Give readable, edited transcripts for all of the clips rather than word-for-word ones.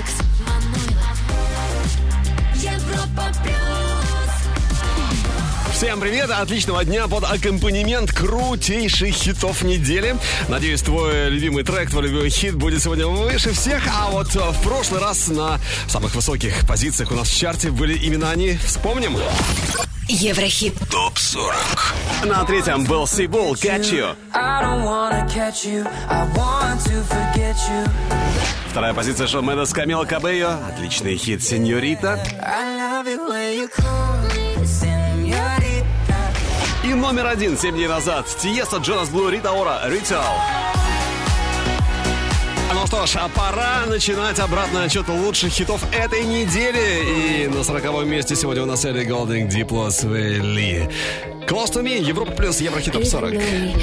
Алекс Манойлов. Европа плюс. Всем привет, отличного дня под аккомпанемент крутейших хитов недели. Надеюсь, твой любимый трек, твой любимый хит будет сегодня выше всех. А вот в прошлый раз на самых высоких позициях у нас в чарте были именно они. Вспомним. Еврохит ТОП-40. На третьем был Сибул, Catch You. Вторая позиция Шон Мендес, Камила Кабелло. Отличный хит «Сеньорита». И номер один 7 дней назад Тиесто, Джонас Блу, Рита Ора, «Ritual». Ну что ж, а пора начинать обратный отчет лучших хитов этой недели. И на 40-м месте сегодня у нас Элли Голдинг, Дипло, Свели. Close to Me, Европа плюс, Еврохит ТОП 40.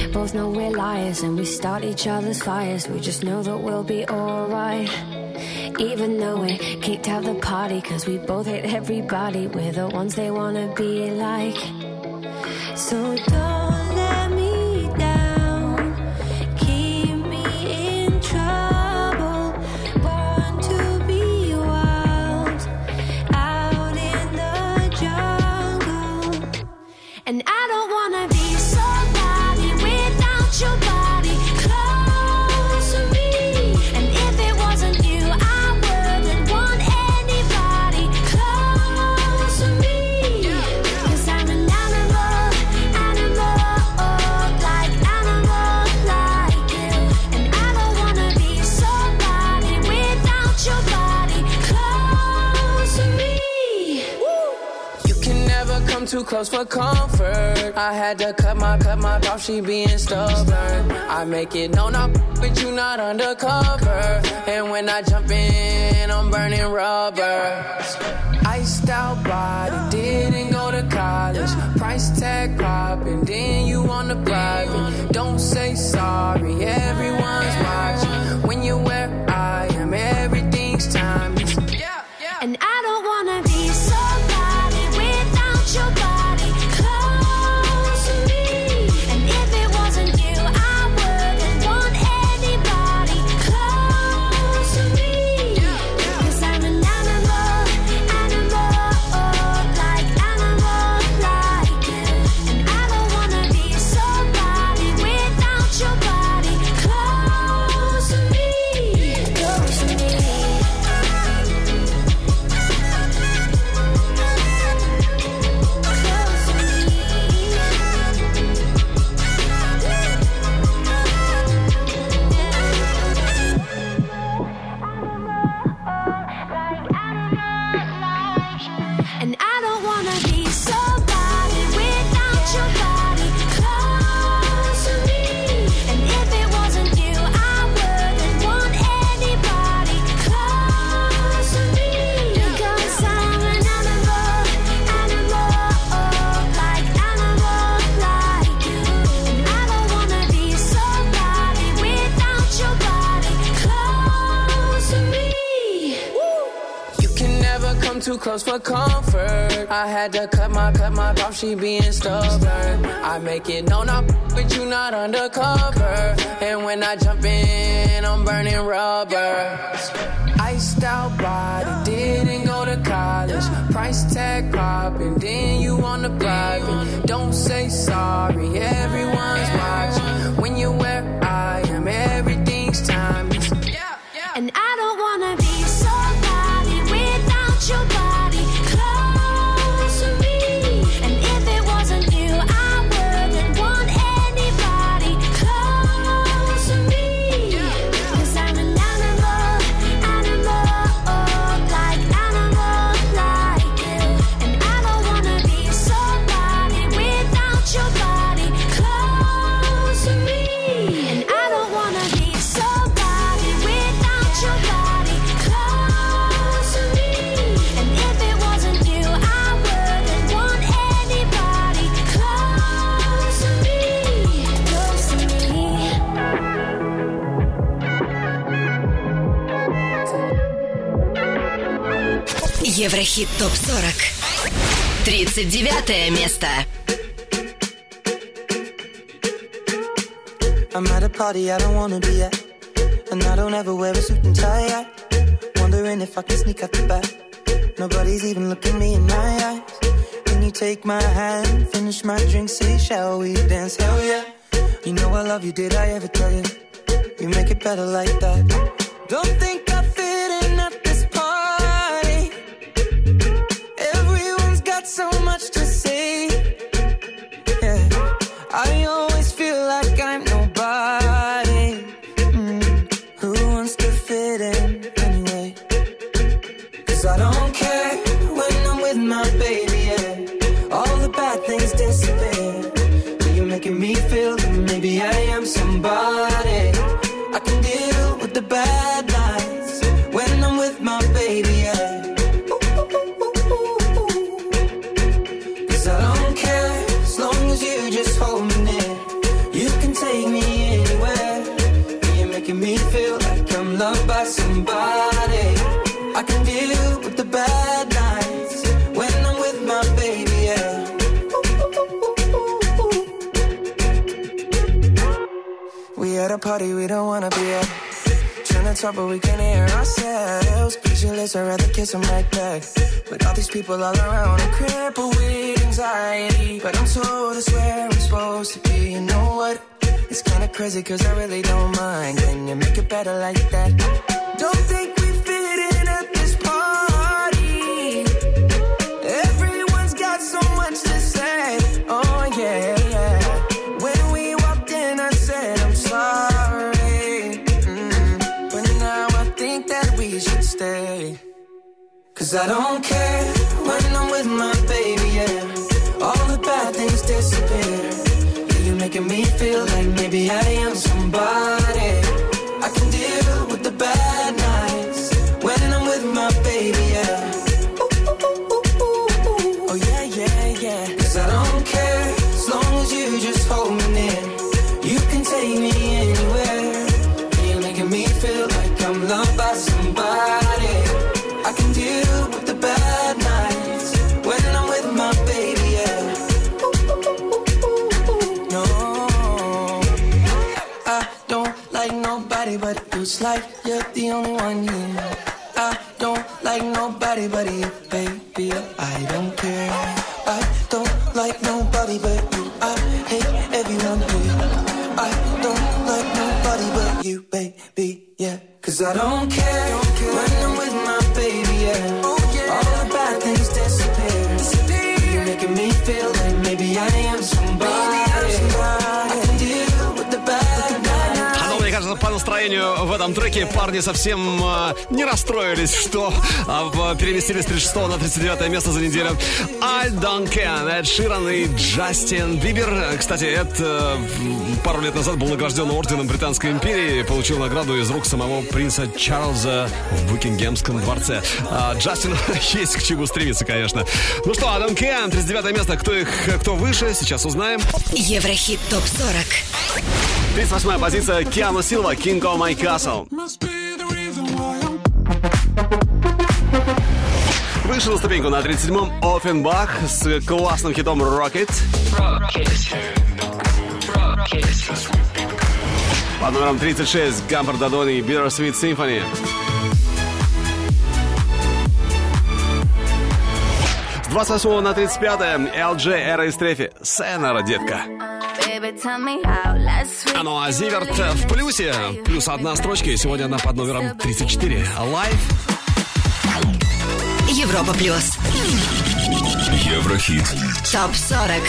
Even though we kicked out the party, cause we both hate everybody. We're the ones they wanna be like. So don't let me down, keep me in trouble. Born to be wild, out in the jungle. And I don't wanna be somebody without your body close to me. And if it wasn't you, I wouldn't want anybody close to me. Cause I'm an animal, like animal like you. And I don't wanna be somebody without your body close to me. You can never come too close for comfort. I had to cut my off, she being stubborn. I make it known I'm with you, not undercover. And when I jump in, I'm burning rubber. Iced out body, didn't go to college. Price tag popping, then you on the private. Don't say sorry, everyone's watching. When you're where I am, everything's timeless. And I don't wanna be somebody without your body close to me. And if it wasn't you, I wouldn't want anybody close to me. Cause I'm an animal, like animal like you. And I don't wanna be somebody without your body close to me. Close to me. And I don't wanna be somebody without your body close to me. And if it wasn't you, I wouldn't want anybody close to me. Cause I'm an animal, like animal like you. And I don't wanna be somebody without your body close to me. You can never come too close for comfort. I had to cut my off, she being stubborn. I make it known I'm with you, not undercover. And when I jump in, I'm burning rubber. Iced out body, didn't go to college. Price tag popping, then you on the private. Don't say sorry, everyone's watching. When you're where I am, everything's timeless. And I don't wanna be somebody without your body close to me. And if it wasn't you, I wouldn't want anybody close to me. Cause I'm an animal, like animal like you. And I don't wanna be somebody without your body close to me. And I don't wanna be somebody without your body close to me. And if it wasn't you, I wouldn't want anybody close to me. Close to me. Еврохит ТОП 40. 39 место. I'm at a party I don't wanna be at, and I don't ever wear a suit and tie. Wondering wondering if I can sneak out the back. Nobody's even looking me in my eyes. When you take my hand, finish my drink, say, shall we dance? Hell yeah. You know I love you, did I ever tell you? You make it better like that. Don't think I fit in at this party. Everyone's got so much to say. Yeah, I always feel like I'm nobody. Who wants to fit in anyway? 'Cause I don't care when I'm with my baby, yeah. All the bad things disappear. You're making me feel that maybe I am somebody. I can deal with the bad nights when I'm with my baby, yeah. 'Cause I don't care as long as you just hold me near. You can take me anywhere. You're making me feel like I'm loved by somebody. I can deal with the bad nights when I'm with my baby, yeah. We at a party we don't wanna be at. Trying to talk but we can't hear ourselves. Pictureless, I'd rather kiss them right back. With all these people all around, I'm crippled with anxiety. But I'm told it's where I'm supposed to be. You know what? It's kinda crazy 'cause I really don't mind. Can you make it better like that? Don't think we fit in at this party. Everyone's got so much to say. Oh yeah, yeah. When we walked in I said I'm sorry. But now I think that we should stay. 'Cause I don't care when I'm with my baby, yeah. All the bad things disappear. You're making me feel like maybe I am somebody. I can deal with the bad nights when I'm with my baby, yeah. Oh yeah, yeah, yeah. 'Cause I don't care as long as you just hold me near. You can take me anywhere. You're making me feel like I'm loved by somebody. I can deal with the bad nights when I'm with my baby, yeah. No, I don't like nobody but you. It's like you're the only one here. I don't like nobody but you, baby. I don't care. I don't like nobody but you. I hate everyone here. I don't like nobody but you, baby, yeah. 'Cause I don't care when I'm with my baby, yeah. All the bad things disappear. You're making me feel like maybe I am somebody. I can deal with the bad nights. Мне кажется, по настроению в этом треке парни совсем не расстроились, что переместились с 36 на 39 место за неделю. I Don't Care, Эд Ширан и Джастин Бибер. Кстати, Эд пару лет назад был награжден орденом Британской империи, получил награду из рук самого принца Чарльза в Букингемском дворце. Джастин есть к чему стремиться, конечно. Ну что, I Don't Care, 39 место. Кто выше, сейчас узнаем. Еврохит ТОП-40. 38-я позиция Киану Силва, King of My Castle. Вышел на ступеньку на 37-м Оффенбах с классным хитом Rocket. Под номером 36 Гамбер Дадони и Bittersweet Symphony. С 28 на 35 LG Эра и Стрефи Сенера, детка. Ну а Зиверт в плюсе. Плюс одна строчка, и сегодня она под номером 34. Live. Европа плюс. Еврохит. ТОП-40.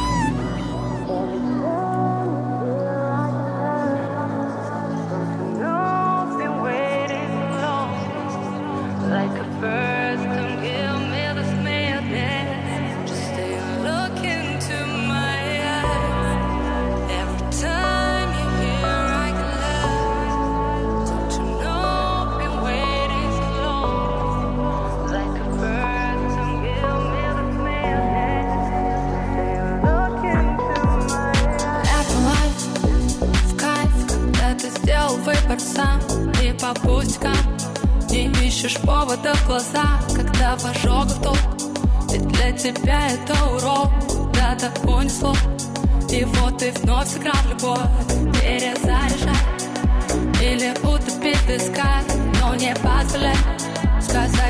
Сам и по пустякам не ищешь повода в глаза, когда в ожогах толк. Ведь для тебя это урок, куда-то понесло. И вот ты вновь сыграл в любовь, перезаряжай или утопить в песках, но не позволяй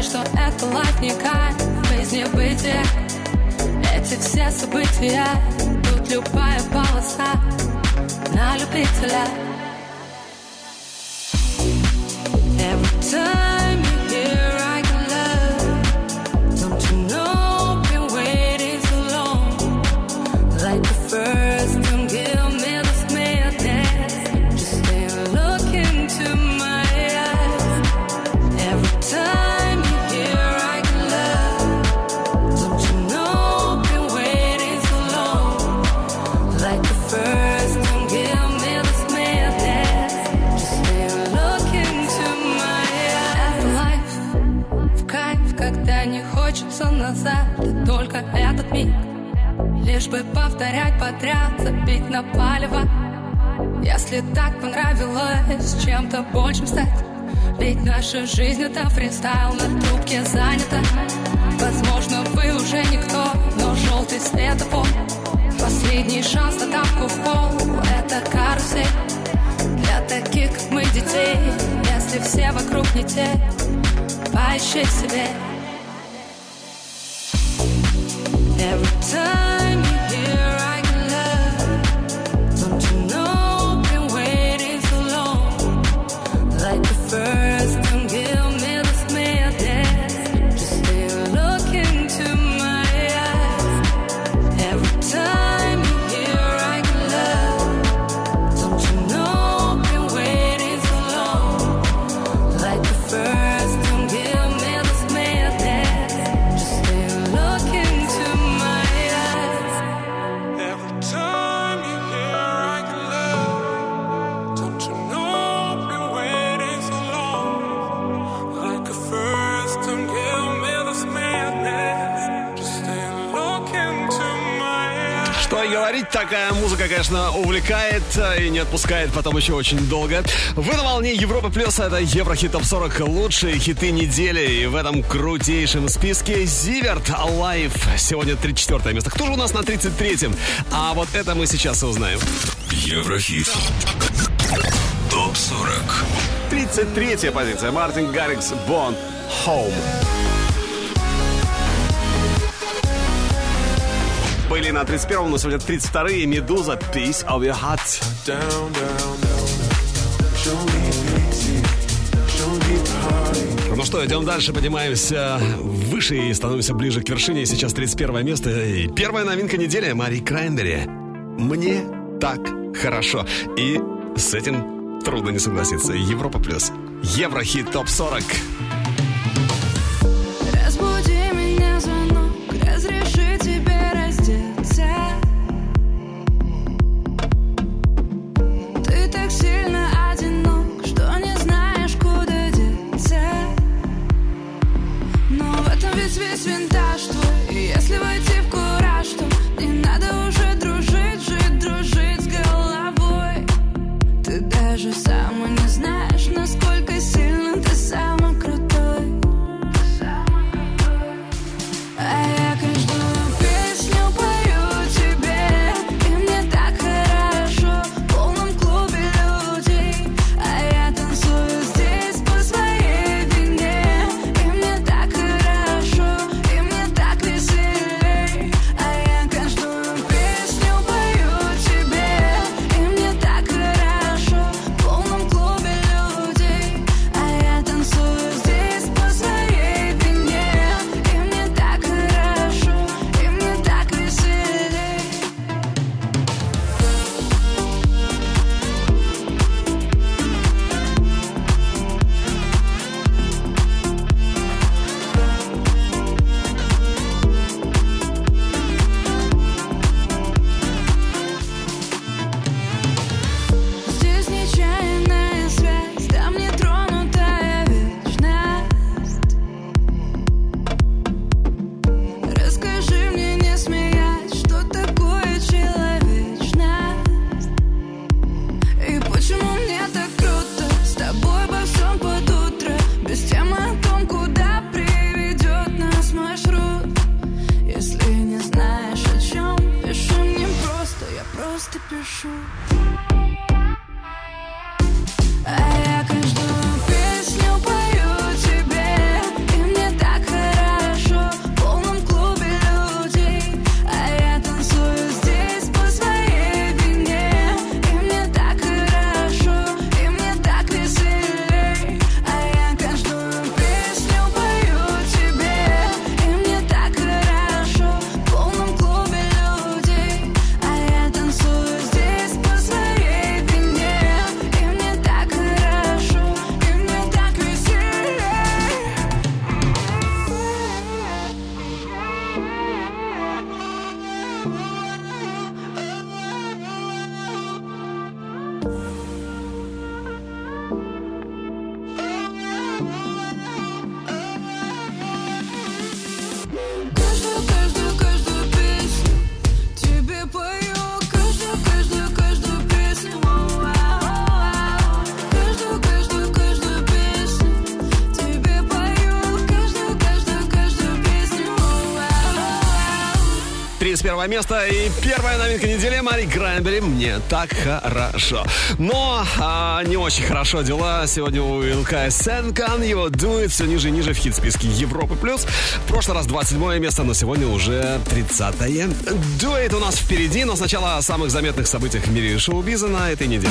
что это лайф не кайф, жизнь не бытие. Эти все события, тут любая полоса на любителя. Every time you hear I can love, don't you know, been waiting so long. Like the first time, give me this madness. Just stay and look into my eyes. Every time you hear I can love, don't you know, been waiting so long. Like the first time, give me this madness. Just stay and look into my eyes. Это лайф, в кайф, когда не хочется назад, и только этот миг. Лишь бы повторять подряд, забить на палево. Если так понравилось чем-то большим стать, ведь наша жизнь это фристайл, на трубке занята. Возможно, вы уже никто, но желтый светофор, последний шанс на тапку в пол. Это карусель для таких, как мы, детей. Если все вокруг не те, поищи себе. Every time you hear I can love, don't you know, been waiting so long. Like the first time, give me this madness. Just stay and look into my eyes. Every time you hear I can love, don't you know, been waiting so long. Like the first time, give me this madness. Just stay and look into my eyes. Every time you hear I can love, don't you know, been waiting so long. Like a first time, give me this madness. Just stay and look into my eyes. Что и говорить, такая музыка, конечно, увлекает и не отпускает потом еще очень долго. Вы на волне Европа Плюс, это Еврохит Топ 40, лучшие хиты недели. И в этом крутейшем списке Зиверт Alive. Сегодня 34 место. Кто же у нас на 33-м? А вот это мы сейчас и узнаем. Еврохит Топ 40. 33-я позиция. Мартин Гаррикс, Born Home. Были на 31-м, но сегодня 32-е. Медуза, Piece of Your Heart. Down, down, down. Show me pity. Show me party. Ну что, идем дальше, поднимаемся выше и становимся ближе к вершине. Сейчас 31 место и первая новинка недели Мари Краймбери. Мне так хорошо. И с этим трудно не согласиться. Европа Плюс. Еврохит Топ 40. Разбуди меня звонок, разреши тебе раздеться. Ты так сильно одинок, что не знаешь, куда деться. Но в этом весь винтаж твой. И если войти в кураж, то не надо уже дружить, жить, дружить с головой. Ты даже сам и не знаешь, насколько сильно ты самый крутой. А я каждую песню пою тебе, и мне так хорошо в полном клубе людей. А я танцую здесь по своей вине, и мне так хорошо, и мне так веселей. А я каждую песню пою тебе, и мне так хорошо в полном клубе людей. А я танцую 21 место. И первая новинка недели Мари Краймбери «Мне так хорошо». Но не очень хорошо дела сегодня у Илкая Сенкан. Его дует все ниже и ниже в хит-списке Европы+. В прошлый раз 27 место, но сегодня уже 30-е. Дует у нас впереди, но сначала о самых заметных событиях в мире шоу-биза на этой неделе.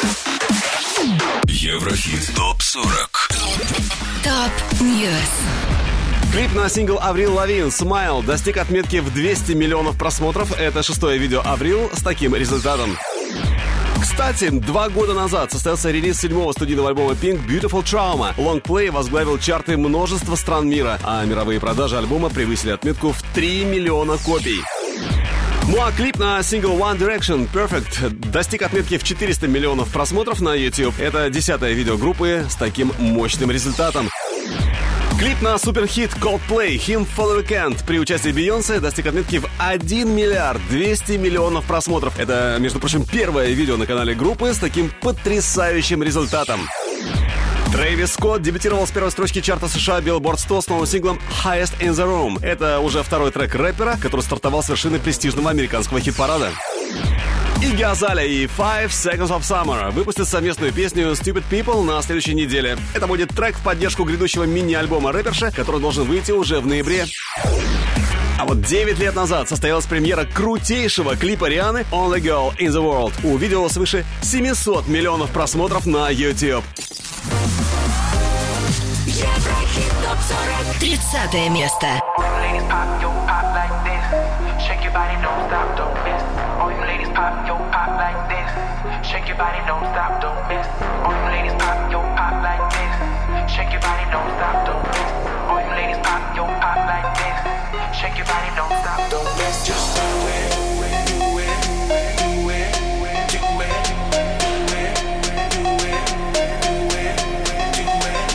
Еврохит ТОП-40. ТОП-ньюс. Клип на сингл Аврил Лавин «Smile» достиг отметки в 200 миллионов просмотров. Это 6-е видео Аврил с таким результатом. Кстати, 2 года назад состоялся релиз 7-го студийного альбома Pink «Beautiful Trauma». Лонгплей возглавил чарты множества стран мира, а мировые продажи альбома превысили отметку в 3 миллиона копий. Ну а клип на сингл One Direction «Perfect» достиг отметки в 400 миллионов просмотров на YouTube. Это 10-е видео группы с таким мощным результатом. Клип на суперхит Coldplay «Him for the Weekend» при участии Бейонсе достиг отметки в 1 миллиард 200 миллионов просмотров. Это, между прочим, первое видео на канале группы с таким потрясающим результатом. Трэвис Скотт дебютировал с первой строчки чарта США Billboard 100 с новым синглом «Highest in the Room». Это уже второй трек рэпера, который стартовал с вершины престижного американского хит-парада. Игги Азалия и 5 Seconds of Summer выпустят совместную песню «Stupid People» на следующей неделе. Это будет трек в поддержку грядущего мини-альбома рэперши, который должен выйти уже в ноябре. А вот 9 лет назад состоялась премьера крутейшего клипа Рианы «Only Girl in the World». У видео свыше 700 миллионов просмотров на YouTube. Еврохит ТОП-40. 30 место. Shake your body, don't stop, don't miss. All you ladies pop, yo, pop like this. Shake your body, don't stop, don't miss. All you ladies pop, yo, pop like this. Shake your body, don't stop, don't miss. All you ladies pop, yo, pop like this. Shake your body, don't stop, don't miss. Just do it, do it, do it, do it, do it, do it, do it, do it, do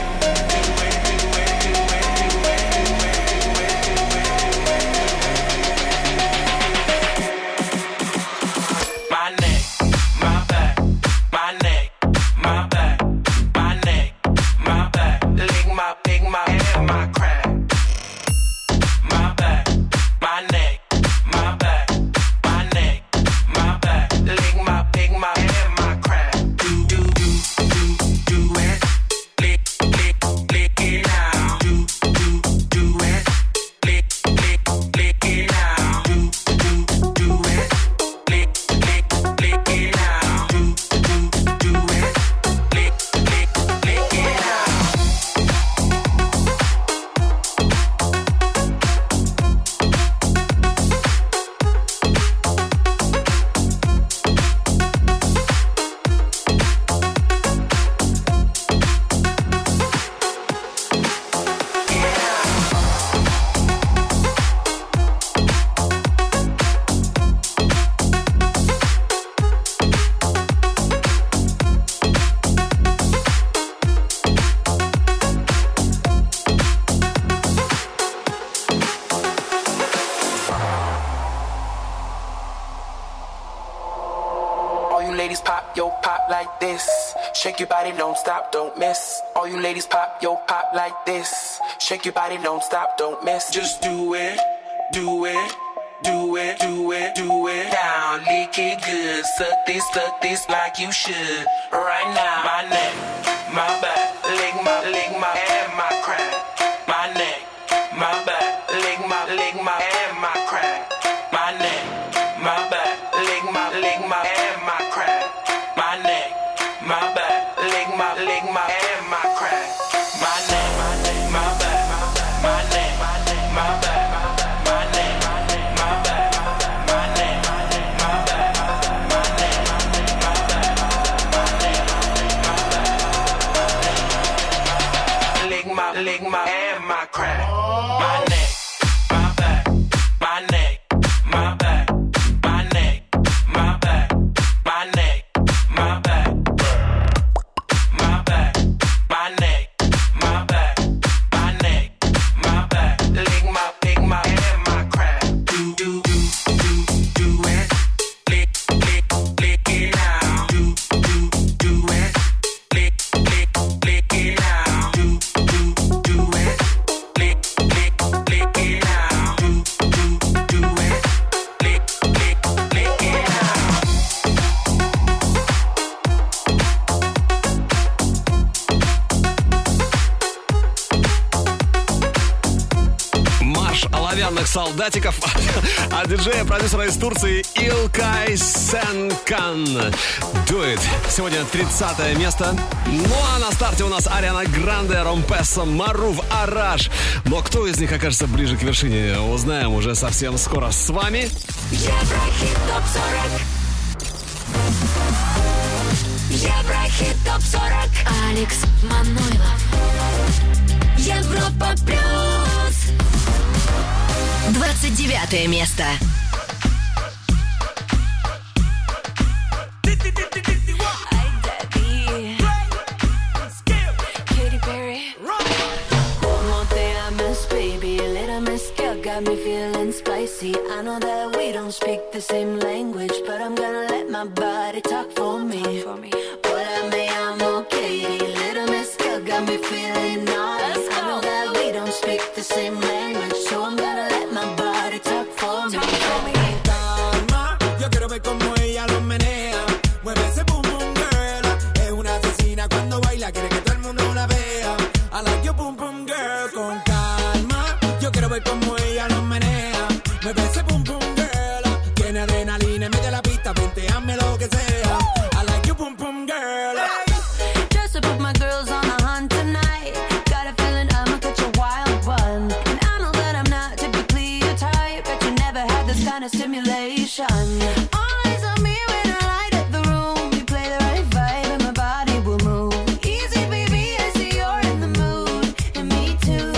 Shake your body, don't stop, don't miss. All you ladies pop, yo, pop like this. Shake your body, don't stop, don't miss. Just do it, do it, do it, do it, do it. Down, lick it good. Suck this like you should. Right now, my neck, my back, lick my and my crack. My neck, my back, lick my and my crack. My neck, my back, lick my and my crack. My neck, my back, lick my and my crack. My neck, my back, my neck, my back, my neck, my back, my neck, my back, my neck, my back, my neck, my back, lick my and my crack. My neck, my back, my neck, my back, my neck, my back, my neck, my back. Lick вооруженных солдатиков от диджея, продюсера из Турции Илкай Сенкан. Do It. Сегодня 30 место. Ну а на старте у нас Ариана Гранде, Ромпеса, Марув, Араш. Но кто из них окажется ближе к вершине, узнаем уже совсем скоро. С вами Еврохит ТОП-40. Еврохит ТОП-40. Алекс Манойлов. Европа плюс. 29 место. Got me feeling spicy. I know that we don't speak the same language, but I'm gonna let my body talk for me. Hola, me llamo Katie. Little Miss Girl got me feeling naughty. I know that we don't speak the same language, so I'm gonna let my body talk for me. Calma, yo quiero ver cómo ella lo menea. Mueve ese boom boom girl. Es una asesina cuando baila, quiere que todo el mundo la vea. I like your boom boom girl. Con calma, yo quiero ver cómo lo menea, me ve ese boom boom girl. Tiene adrenalina en medio de la pista, venteame lo que sea. I like you boom boom girl. Just to put my girls on the hunt tonight. Got a feeling I'ma catch a wild one. And I know that I'm not typically your type, but you never had this kind of stimulation. Eyes on me when I light up the room. You play the right vibe and my body will move. Easy baby, I see you're in the mood, and me too.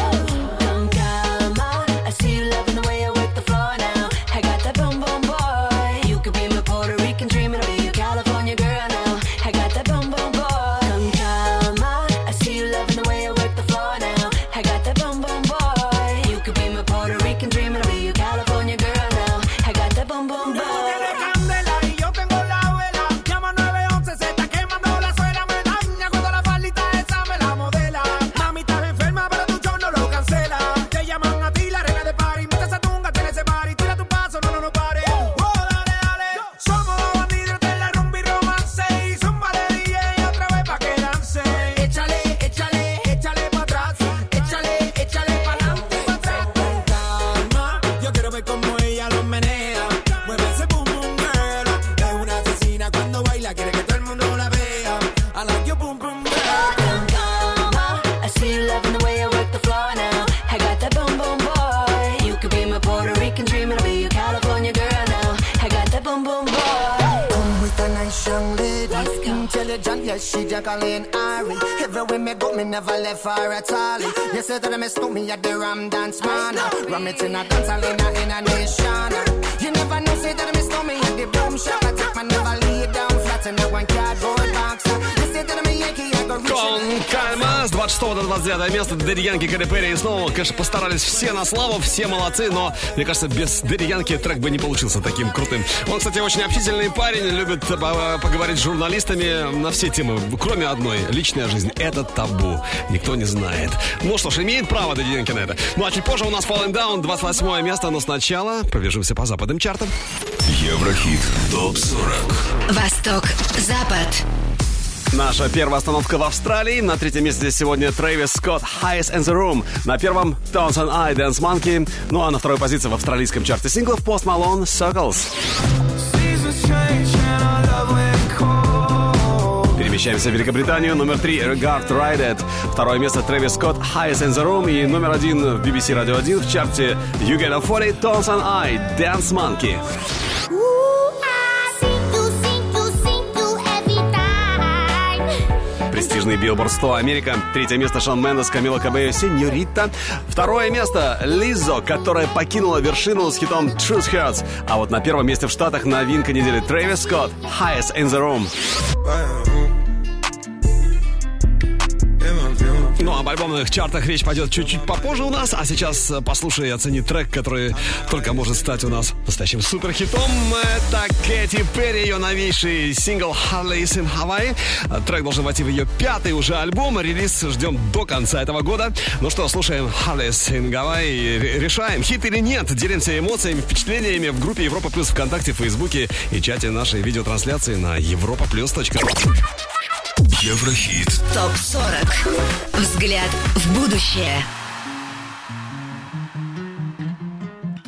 She Jacqueline Ari. Everywhere me go, me never left her at all. You said that I mistook me at the Ram Dance Man. Ram it in a dance hall in a nation. You never know, say that I mistook me at the Boom Shop. I take my never lay down flat in a one cardboard box. You said that I'm a Yankee, I go reach. Кон Кальма с 26 до 29 места. Дэдди Янки, Кэрри Перри. И снова, конечно, постарались все на славу, все молодцы, но, мне кажется, без Дэдди Янки трек бы не получился таким крутым. Он, кстати, очень общительный парень, любит поговорить с журналистами на все темы, кроме одной. Личная жизнь — это табу. Никто не знает. Ну что ж, имеет право Дэдди Янки на это. Ну а чуть позже у нас Falling Down, 28 место, но сначала пробежимся по западным чартам. Еврохит ТОП-40. Восток, Запад. Наша первая остановка в Австралии. На третьем месте сегодня Трэвис Скотт, Highest in the Room. На первом Tones and I, Dance Monkey. Ну а на второй позиции в австралийском чарте синглов Post Malone, Circles. Перемещаемся в Великобританию. Номер 3 Regard Ride. Второе место Трэвис Скотт, Highest in the Room. И номер 1 в BBC Radio 1 в чарте You Get a 40, Tones and I, Dance Monkey. Престижный Billboard 100 Америка. Третье место Шон Мендес, Камила Кабелло, Сеньорита. Второе место Лиззо, которая покинула вершину с хитом Truth Hurts. А вот на первом месте в Штатах новинка недели Трэвис Скотт, Highest in the Room. Ну, об альбомных чартах речь пойдет чуть-чуть попозже у нас. А сейчас послушай и оцени трек, который только может стать у нас настоящим суперхитом. Это Кэти Перри, ее новейший сингл «Holidays in Hawaii». Трек должен войти в ее 5-й уже альбом. Релиз ждем до конца этого года. Ну что, слушаем «Holidays in Hawaii». Решаем, хит или нет. Делимся эмоциями, впечатлениями в группе Европа Плюс ВКонтакте, Фейсбуке и чате нашей видеотрансляции на europaplus.ru. Еврохит ТОП-40. Взгляд в будущее.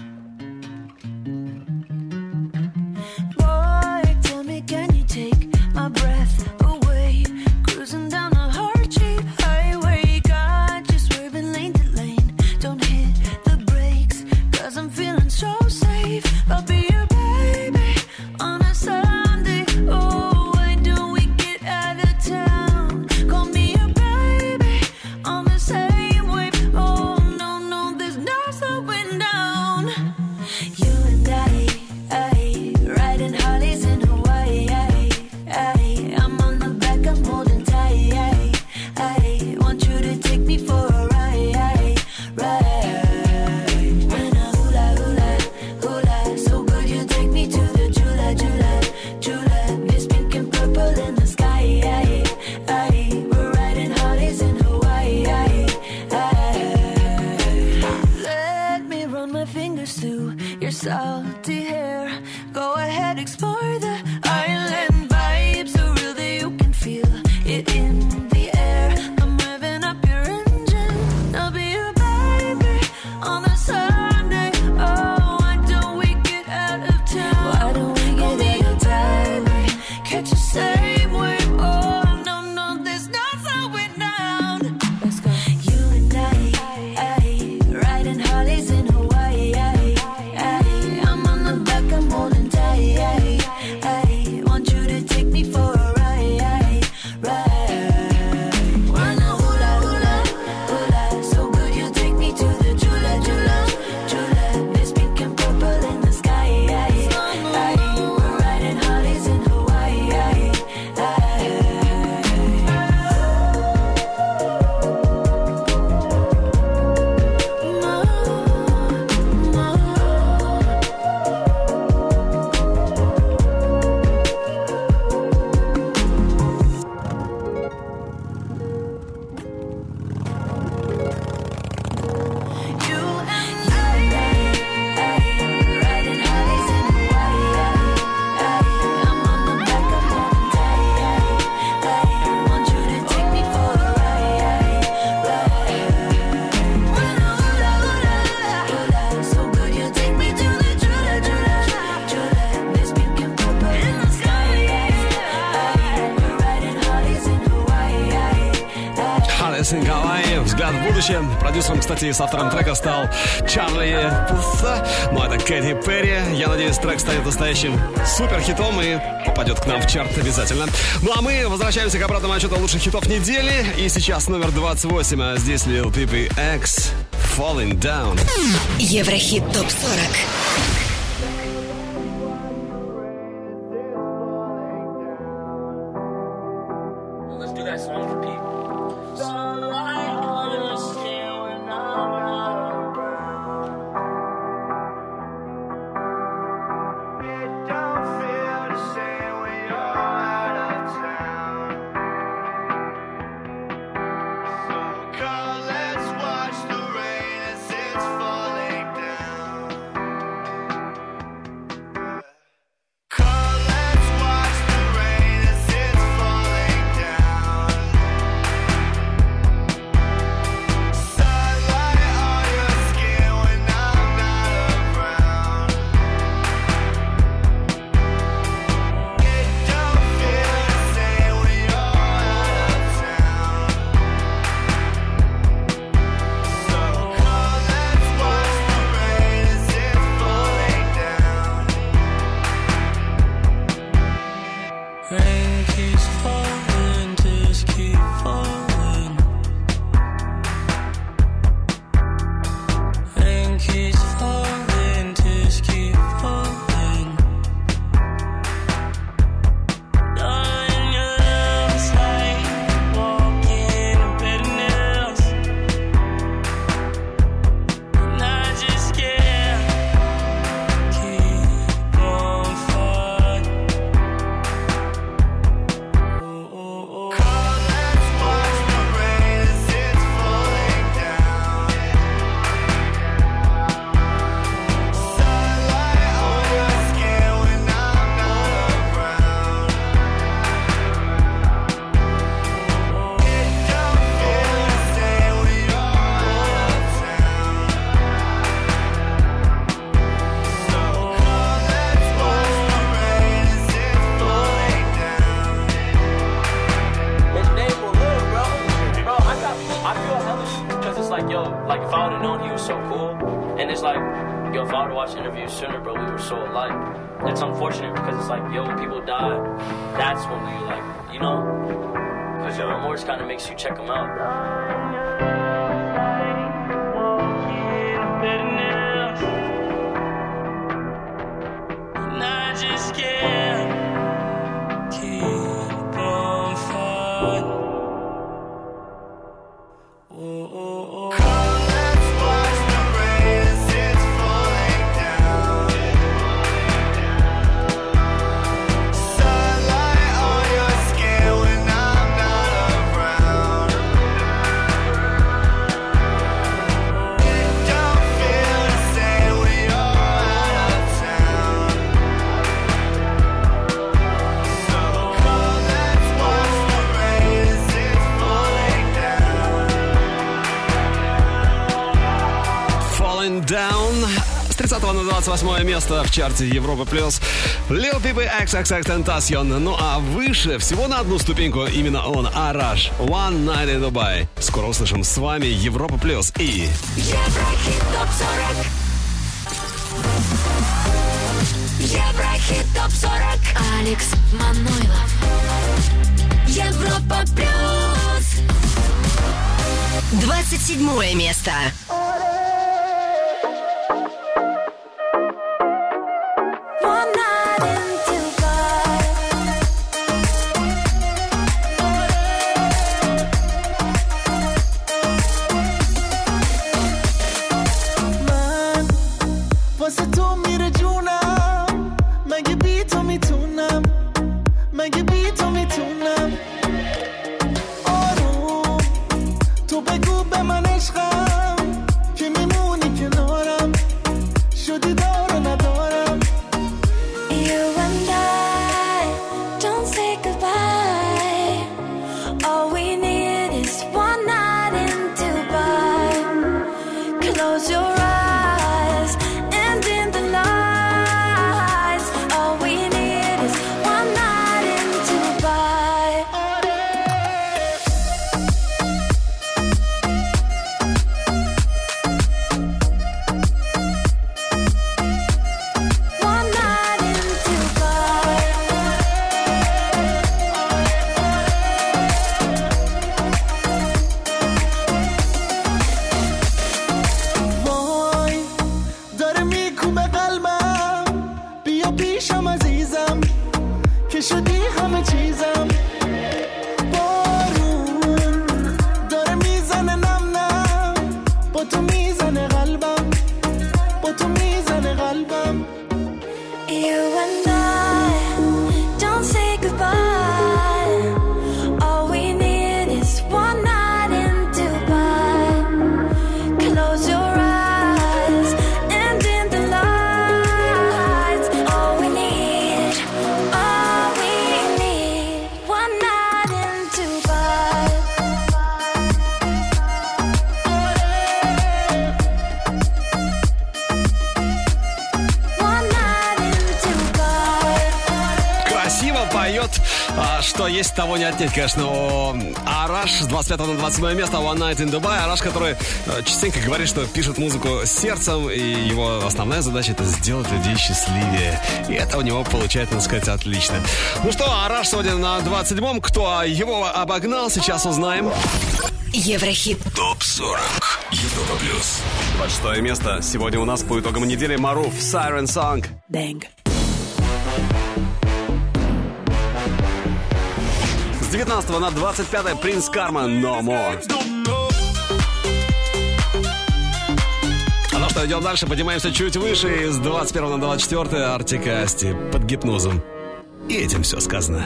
Alice in Hawaii, взгляд в будущее. Продюсером, кстати, и с автором трека стал Чарли Пуффа. Ну, это Кэти Перри. Я надеюсь, трек станет настоящим суперхитом и попадет к нам в чарт обязательно. Ну, а мы возвращаемся к обратному отчету лучших хитов недели. И сейчас номер 28, а здесь Lil Peep X Falling Down. Еврохит ТОП-40. С 30 на 28 место в чарте Европа Плюс Lil Peep XXXTentacion. Ну а выше, всего на одну ступеньку, именно он, Араш, One Night in Dubai. Скоро услышим с вами Европа Плюс и Еврохит ТОП-40. Еврохит ТОП-40. Алекс Манойлов. Европа Плюс. 27 место. تو بگو به من عشقم Что есть, того не отнять, конечно. Араш с 25 на 27 место, One Night in Dubai. Араш, который частенько говорит, что пишет музыку с сердцем, и его основная задача — это сделать людей счастливее. И это у него получается, надо сказать, отлично. Ну что, Араш сегодня на 27-м. Кто его обогнал, сейчас узнаем. Еврохит. ТОП-40. Европа плюс. 26 место. Сегодня у нас по итогам недели Маруф, Siren Song. Бэнг. С 19 на 25 Принц Карма, No More. Ну что, идем дальше, поднимаемся чуть выше. С 21 на 24 Артик и Асти, Под гипнозом. И этим все сказано.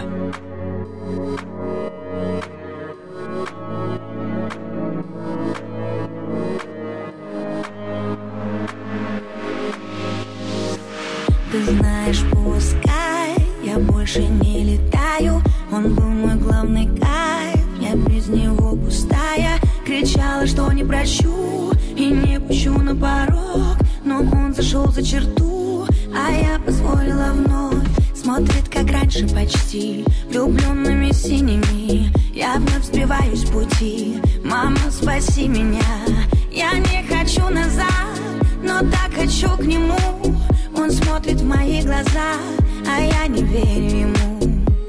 Ты знаешь, пускай я больше не летаю. Он был мой главный кайф, я без него пустая. Кричала, что не прощу и не пущу на порог, но он зашел за черту, а я позволила вновь. Смотрит, как раньше почти, влюбленными синими. Я вновь сбиваюсь с пути. Мама, спаси меня. Я не хочу назад, но так хочу к нему. Он смотрит в мои глаза, а я не верю ему.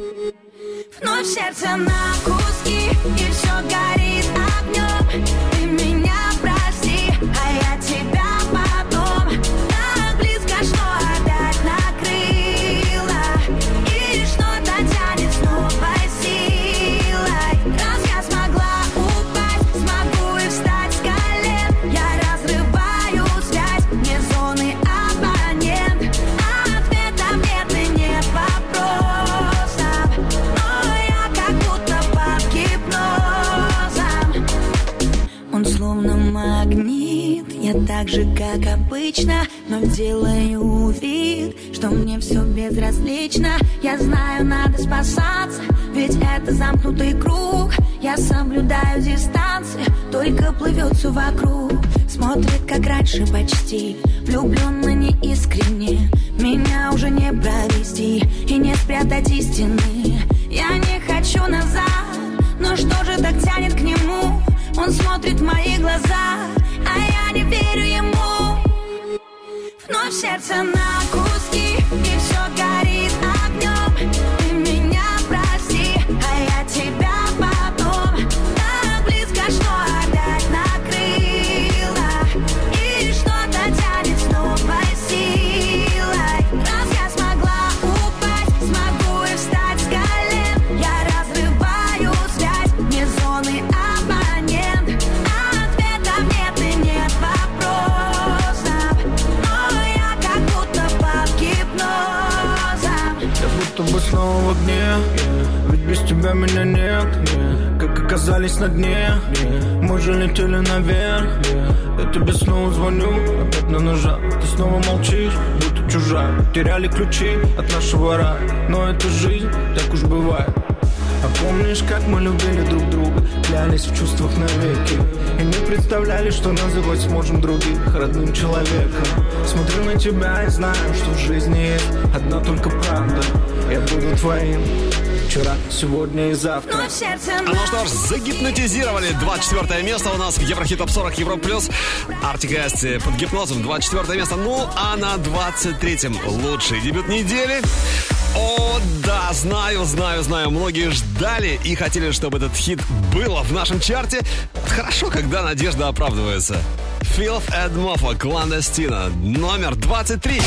Вновь сердце на куски, и все горит огнем. Ты меня прости, а я тебя потом. Так близко, что опять накрыло, и что-то тянет с новой силой. Раз я смогла упасть, смогу и встать с колен. Я разрываю связь, мне зоны абонент. Ответов нет и нет вопросов, но я как будто под гипнозом. Он словно магнит, я так же, как обычно, но делаю вид, что мне все безразлично. Я знаю, надо спасаться, ведь это замкнутый круг. Я соблюдаю дистанцию, только плывет все вокруг. Смотрит, как раньше почти, влюбленно неискренне. Меня уже не провести и не спрятать истины. Я не хочу назад, но что же так тянет к нему? Он смотрит в мои глаза, а я не верю ему. Вновь сердце на куски, и все горит огнем. Ты меня прости, а я тебя потом. Так близко, что опять накрыло, и что-то тянет с новой силой. Раз я смогла упасть, смогу и встать с колен. Я разрываю связь, мне зоны абонент. Ответов нет и нет вопросов, но я как будто под гипнозом. Я будто бы снова в огне, ведь без тебя меня нет. Как оказались на дне, мы же летели наверх. Я тебе снова звоню, опять на ножах. Ты снова молчишь, будто чужак. Теряли ключи от нашего рая, но это жизнь, так уж бывает. А помнишь, как мы любили друг друга, клялись в чувствах навеки, и не представляли, что называть сможем других родным человеком. Смотрю на тебя и знаю, что в жизни есть одна только правда. Я буду твоим вчера, сегодня и завтра. Ну что ж, загипнотизировали. 24 место у нас в Еврохит Топ 40 Европа Плюс. Артик и Асти Под гипнозом. 24 место. Ну а на 23-м лучший дебют недели. О, да, знаю. Многие ждали и хотели, чтобы этот хит было в нашем чарте. Хорошо, когда надежда оправдывается. Filth and Mofo, Clandestino, номер 23.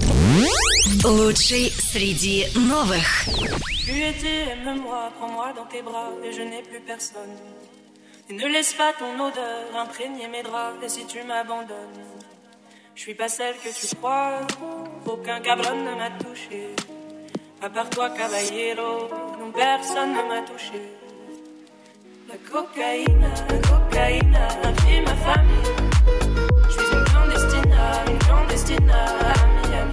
Лучший среди новых. Tu étais, aime-moi, prends-moi dans tes bras et je n'ai plus personne. Et ne laisse pas ton odeur imprégner mes draps. Et si tu m'abandonnes, je suis pas celle que tu crois. Aucun cabron ne m'a touché. À part toi, caballero, non, personne ne m'a touché. La cocaïne a pris ma famille. Je suis une clandestine à Miami.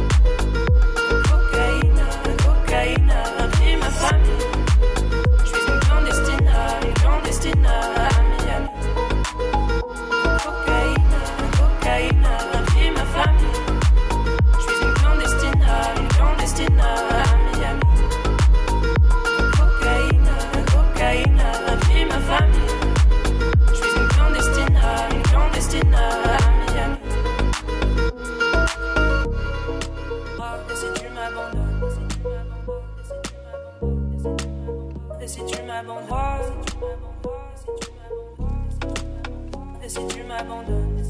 Cocaïne a pris ma famille. Je suis une clandestine à Miami. Cocaïne a pris ma famille. Je suis une clandestine à Miami. m'abandonnes,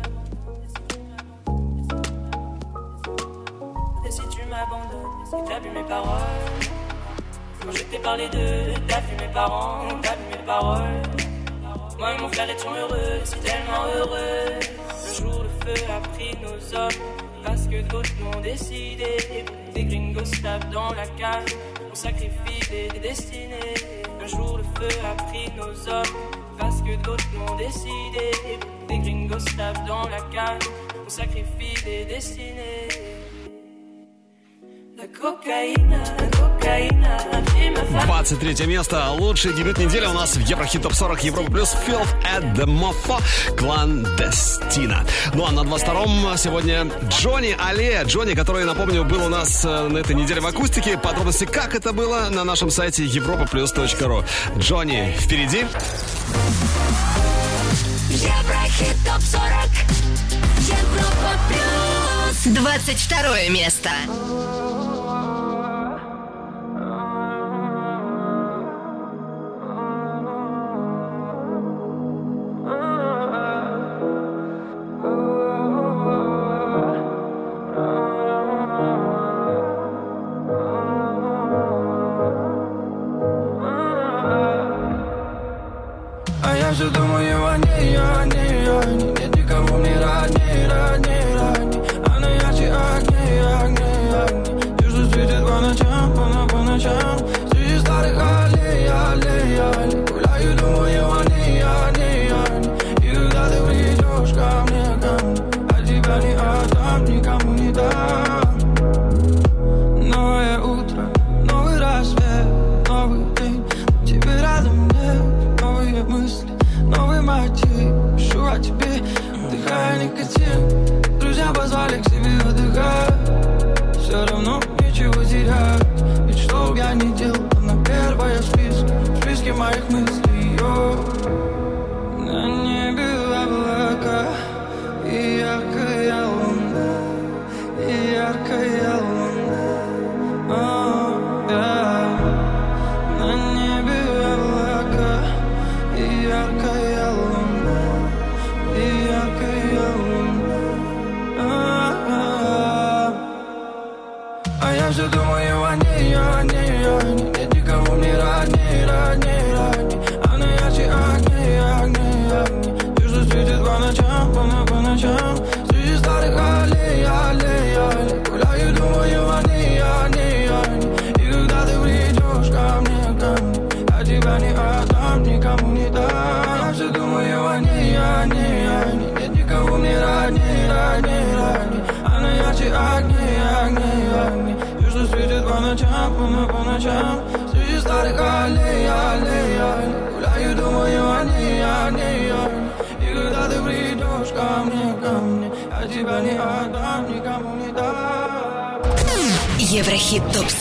et si tu m'abandonnes, est-ce que t'as vu mes paroles? Quand je t'ai parlé d'eux, t'as vu mes parents, t'as vu mes paroles. Moi et mon frère étions heureux, si tellement heureux. Un jour le feu a pris nos hommes, parce que d'autres l'ont décidé. Des gringos tapent dans la cave, on sacrifie des destinées. Un jour le feu a pris nos hommes, parce que d'autres l'ont décidé. Des gringos tapent dans la cave, on sacrifie des destinées. La cocaïna, 23 место. Лучший дебют недели у нас в Еврохит Топ 40 Европа Плюс. Filth at the Mofo, Clandestina. Ну а на 22-м сегодня Джонни Аллея. Джонни, который, напомню, был у нас на этой неделе в акустике. Подробности, как это было, на нашем сайте europaplus.ru. Джонни впереди. Еврохит Топ 40 Европа Плюс. 22 место. Все думаю о ней, о ней, о ней. Нет никого мне родней, родней, родней. Она ярче огней, огней, огней. Те, что светит по ночам, по ночам. Среди старых аллей, аллей, аллей. Гуляю, думаю о ней, о ней, о ней. И когда ты придешь ко мне, а тебя не отдам, никому не дам. Новое утро, новый рассвет, новый день. Тебе рядом нет, новые мысли. Новый мотив, пишу о тебе, вдыхая никотин. Друзья позвали к себе отдыхать. Все равно ничего терять. Ведь что б я ни делал, она первая в списке моих мыслей. На небе облака и яркая луна, и яркая луна. На небе облака и яркая луна, и яркая луна. А я все думаю о ней, о ней, о ней. Нет никого мне родней, родней, родней. Она ярче огней, огней, огней. Те, что светит по ночам, по ночам. Среди старых аллей, аллей, аллей. Гуляю, думаю о ней, о ней, о ней. И когда ты придешь ко мне, а тебя не отдам, никому не дам. Я все думаю о ней, о ней, о ней. Нет никого мне родней, родней, родней. Она ярче огней, огней, огней. Те, что светит по ночам, по ночам. Среди старых аллей, аллей, аллей. Гуляю, думаю о ней, о ней, о ней. И когда ты придешь ко мне, а тебя не отдам, никому не дам. Еврохит Топ 40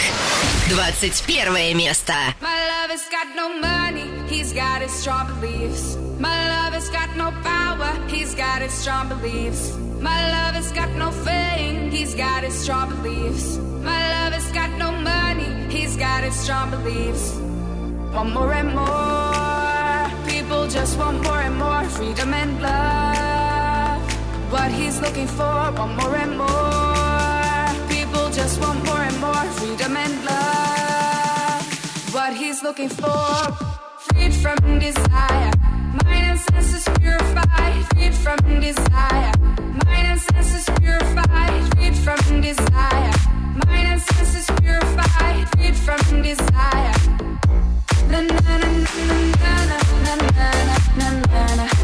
21 место. My lover's got no money, he's got his strong beliefs. My lover's got no power, he's got his strong beliefs. My lover's got no fame, he's got his strong beliefs. My lover's got no money, he's got his strong beliefs. Want more and more, people just want more and more freedom and love. What he's looking for, want more and more. People just want more and more freedom and love. What he's looking for, freed from desire. Mind and senses purified, freed from desire. Mind and senses purified, freed from desire. Mind and senses purified, freed from desire. Na na na na na na na na na na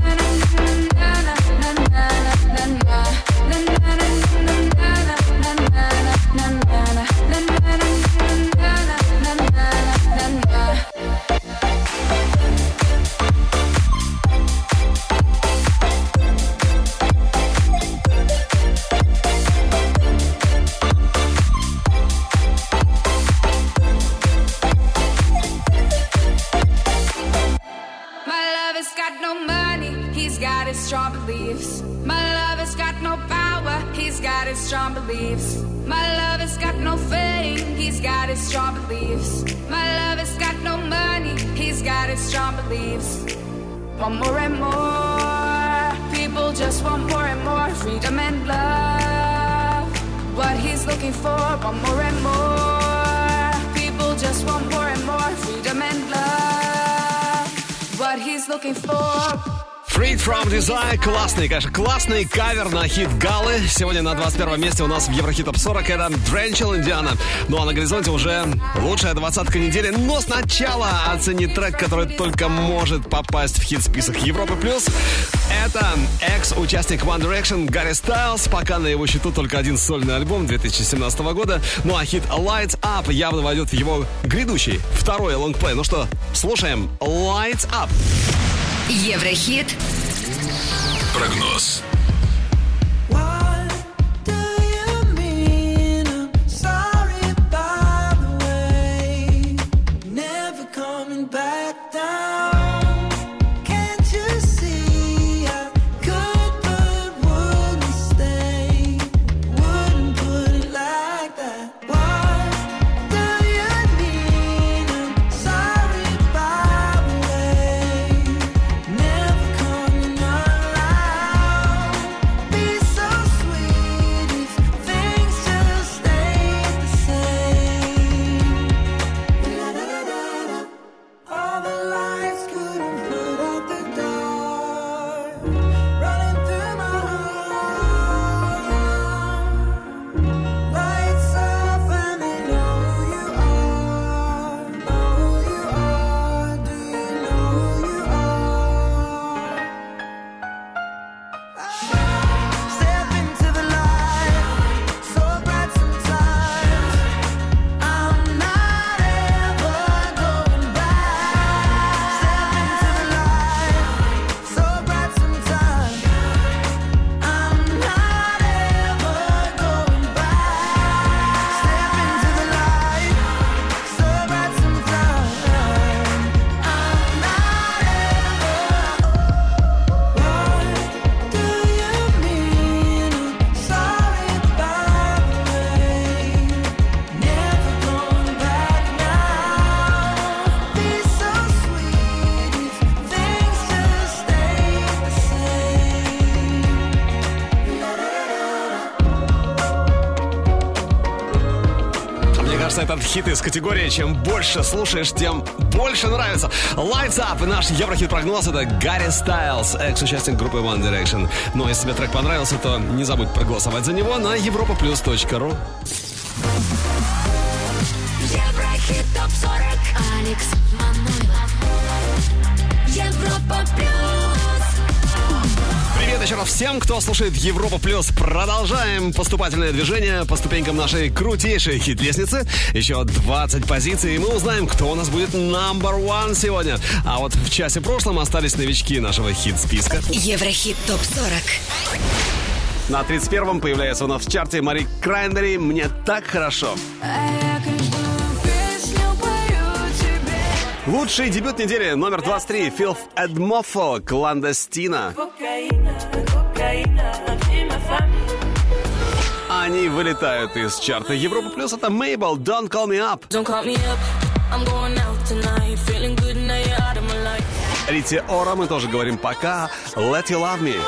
strong beliefs. My lover's got no power, he's got his strong beliefs. My lover's got no fame, he's got his strong beliefs. My lover's got no money, he's got his strong beliefs. Want more and more, People just want more and more freedom and love. What he's looking for, want more and more. People just want more and more freedom and love. What he's looking for. Freed from Desire. Классный, конечно, классный кавер на хит Галы. Сегодня на 21 месте у нас в Еврохит Топ 40 это Drenchel Indiana. Ну а на горизонте уже лучшая двадцатка недели. Но сначала оцени трек, который только может попасть в хит-список Европы+. Это экс-участник One Direction Гарри Стайлз. Пока на его счету только один сольный альбом 2017 года. Ну а хит Lights Up явно войдет в его грядущий второй лонгплей. Ну что, слушаем Lights Up. Еврохит. Прогноз. Этот хит из категории «Чем больше слушаешь, тем больше нравится». Lights Up и наш Еврохит-прогноз — это Гарри Стайлз, экс-участник группы One Direction. Но если тебе трек понравился, то не забудь проголосовать за него на europaplus.ru. Еврохит Топ 40. Алекс Манойлов. Европа Плюс. Привет еще раз всем, кто слушает Европа Плюс. Продолжаем поступательное движение по ступенькам нашей крутейшей хит-лестницы. Еще 20 позиций, и мы узнаем, кто у нас будет number one сегодня. А вот в часе прошлом остались новички нашего хит-списка. Еврохит Топ 40. На 31-м появляется у нас в чарте Мари Краймбери «Мне так хорошо». Лучший дебют недели номер 23 Filth and Moffo «Кландестина». Они вылетают из чарта Европа Плюс. Это Mabel «Don't Call Me Up». Рите Ора мы тоже говорим пока. «Let You Love Me».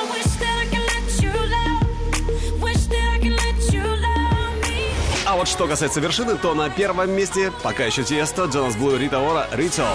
А вот что касается вершины, то на первом месте пока еще Тиесто, Джонас Блу, Рита Ора, «Ritual».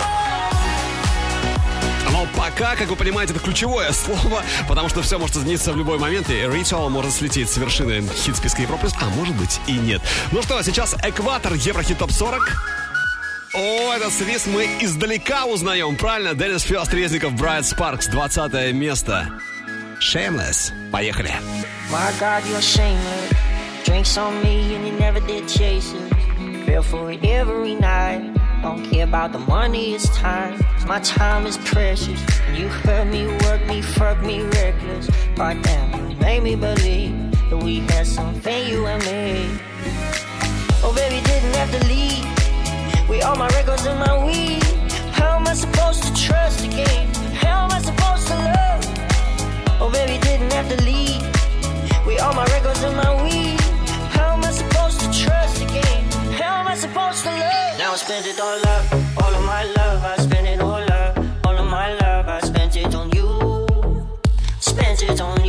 Но пока, как вы понимаете, это ключевое слово, потому что все может измениться в любой момент, и «Ritual» может слететь с вершины хит-списка Европы+, а может быть и нет. Ну что, сейчас экватор Еврохит Топ 40. О, этот свист мы издалека узнаем, правильно? Деннис Фёст, Резников, Брайт Спаркс, 20 место. Shameless. Поехали. My God, you're shameless. Drinks on me and you never did chase it. Feel for it every night. Don't care about the money, it's time. My time is precious. You hurt me, work me, fuck me reckless. Right now, you made me believe that we had something, you and me. Oh baby, didn't have to leave. With all my records and my weed. How am I supposed to trust again? How am I supposed to love? Oh baby, didn't have to leave. With all my records and my weed. How am I supposed to trust again? How am I supposed to love? Now I spent it all up, all of my love. I spent it all up, all of my love. I spent it on you, spent it on you.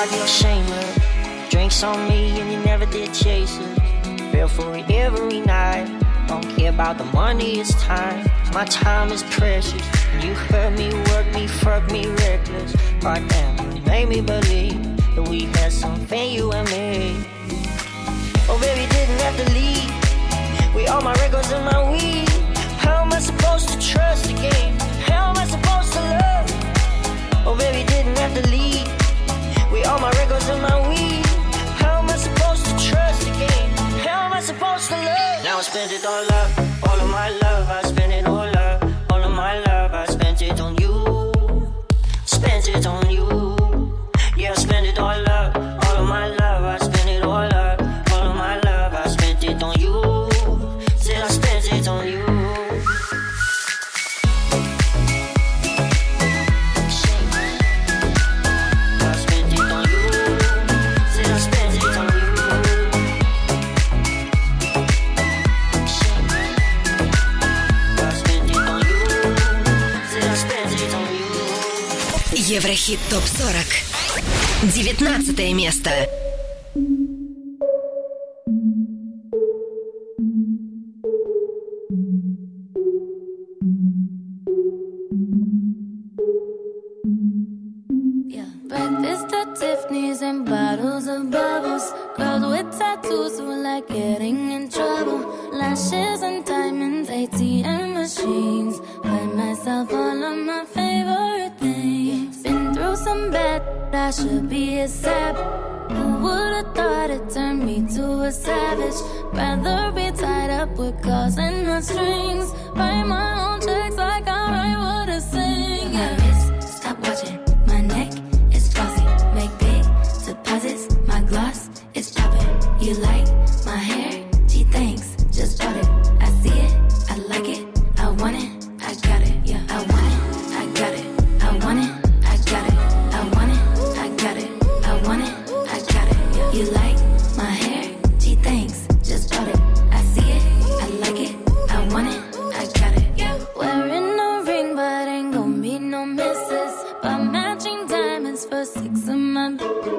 body or shameless. Drinks on me and you never did chase it. Feel for it every night. Don't care about the money, it's time. My time is precious. You hurt me, work me, fuck me reckless. God damn, you made me believe that we had something, you and me. Oh baby, didn't have to leave. With all my records and my weed. How am I supposed to trust again? How am I supposed to love? Oh baby, didn't have to leave. With all my records and my weed. How am I supposed to trust again? How am I supposed to love? Now I spent it all up, all of my love. I spent it all up, all of my love. I spent it on you, spent it on you. Yeah, I spent it all up, all of my love. I spent it all up, all of my love. I spent it on you, said I spent it on you. Еврохит ТОП-40. 19 место. Breakfast at Tiffany's and bottles of bubbles. Girls with tattoos who like getting in trouble. Lashes and diamonds, ATM machines. Buy myself all of my favorite things. Been through some bad, I should be a sap. Who would've thought it turned me to a savage? Rather be tied up with calls and not strings. Write my own checks like I write what I sing. My wrist, stop watching. My neck is flossy. Make big deposits. My gloss is popping. You like my hair? Gee, thanks. Just bought it. I see it. I like it. I want it. I got it. Yeah, I want it. I got it. I want it. I got it. I want it. I got it. I want it. I got it. Yeah. You like my hair? Gee, thanks. Just bought it. I see it. I like it. I want it. I got it. Yeah. Wearing a ring, but ain't gon' be no misses. But matching diamonds for 6 of my.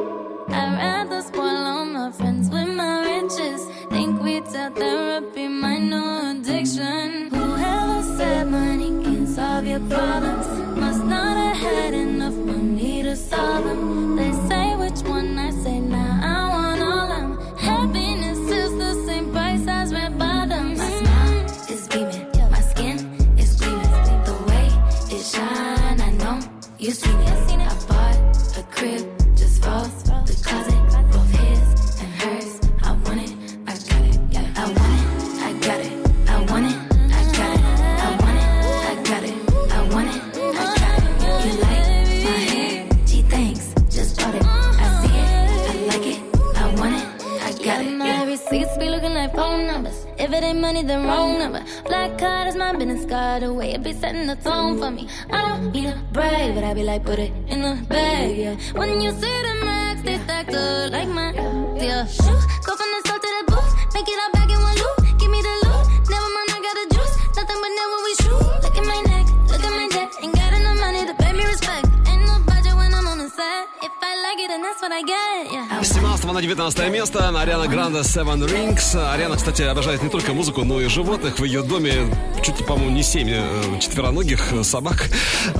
I'd rather spoil all my friends with my riches. Think we tell therapy my new addiction. Whoever said money can solve your problems must not have had enough money to solve them. They say which one I say now. I want all them. Happiness is the same price as red bottoms. My smile is beaming, my skin is gleaming. The way it shine, I know you seen it. I bought a crib just for the closet, both his and hers. I want it, I got it. Yeah, I want it, I got it. I want it, I got it. I want it, I got it. I want it, I got it. You like my hair? Gee, thanks. Just bought it. I see it, I like it. I want it, I got it. My receipts be looking like phone numbers. If it ain't money, then wrong number. Black card is my business card. The way it be setting the tone for me. I don't need a brag, but I be like, put it in the bag, yeah. When you see the max, they stacked up like my, yeah. Shoot, go from the store to the booth. Make it all back in one loop. Give me the loot. Never mind, I got the juice. Nothing but never we shoot. Look at my neck, look at my neck. Ain't got enough money to pay me respect. Ain't no budget when I'm on the set. If I like it, then that's what I get, yeah. С 17 на 19 место Ариана Гранде Seven Rings. Ариана, кстати, обожает не только музыку, но и животных. В ее доме чуть ли, по-моему, не 7 четвероногих собак.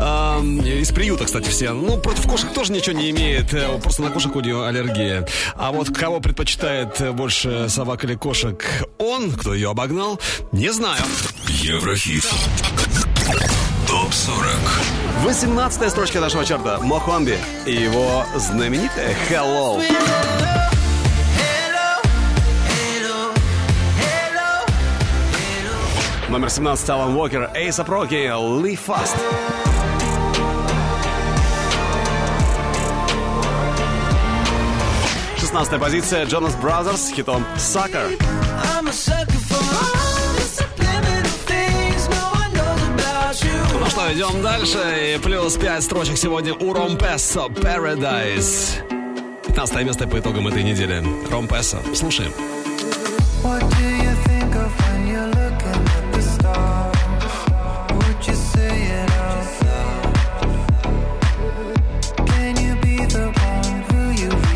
Из приюта, кстати, все. Ну, против кошек тоже ничего не имеет. Просто на кошек у нее аллергия. А вот кого предпочитает больше собак или кошек он, кто ее обогнал, не знаю. Еврохит ТОП-40. 18-я строчка нашего чарта. Мохомби и его знаменитая Hello. Номер 17 Алан Уокер, A$AP Rocky, Live Fast. 16-я позиция Jonas Brothers с хитом Sucker. Ну что, идем дальше. И плюс 5 строчек сегодня у Ромпессо, Paradise. 15 место по итогам этой недели. Ромпессо. Слушаем. Can you be the one who you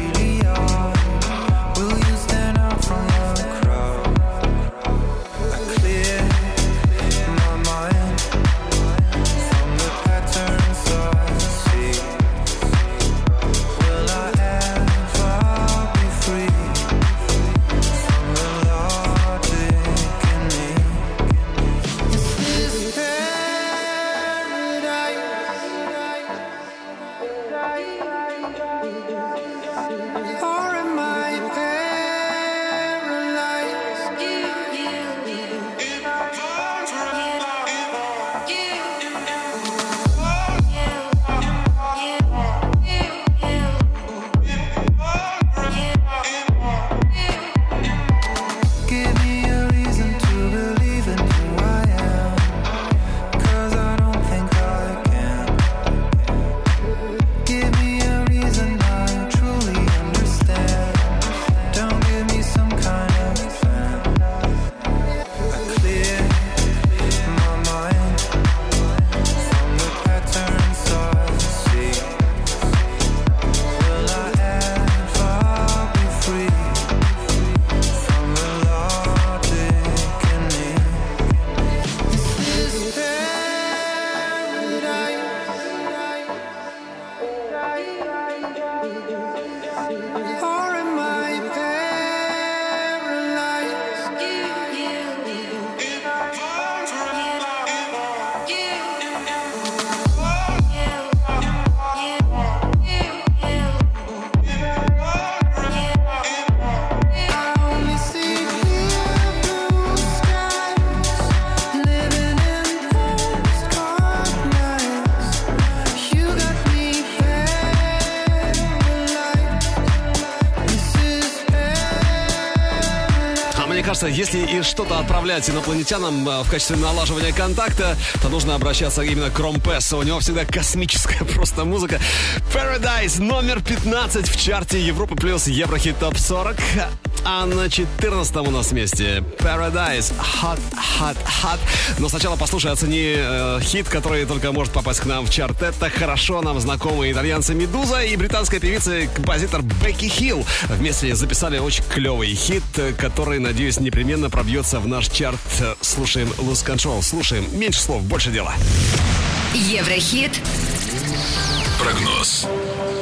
Если и что-то отправлять инопланетянам в качестве налаживания контакта, то нужно обращаться именно к Ромпессу. У него всегда космическая просто музыка. Paradise номер 15 в чарте Европа плюс Еврохит ТОП 40. А на 14-м у нас месте Paradise Hot, Hot, Hot. Но сначала послушай, оцени хит, который только может попасть к нам в чарт. Это хорошо нам знакомые итальянцы Медуза и британская певица и композитор Бекки Хилл. Вместе записали очень клевый хит, который, надеюсь, непременно пробьется в наш чарт. Слушаем Lose Control. Слушаем. Меньше слов, больше дела. Еврохит. Прогноз.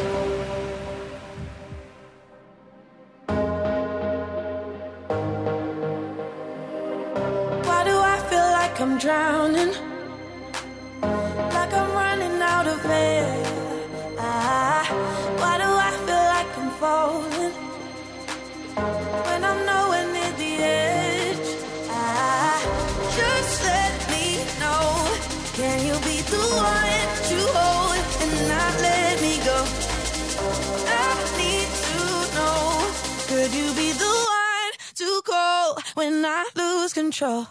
I'm drowning, like I'm running out of air. Why do I feel like I'm falling when I'm nowhere near the edge? Just let me know, can you be the one to hold and not let me go? I need to know, could you be the one to call when I lose control?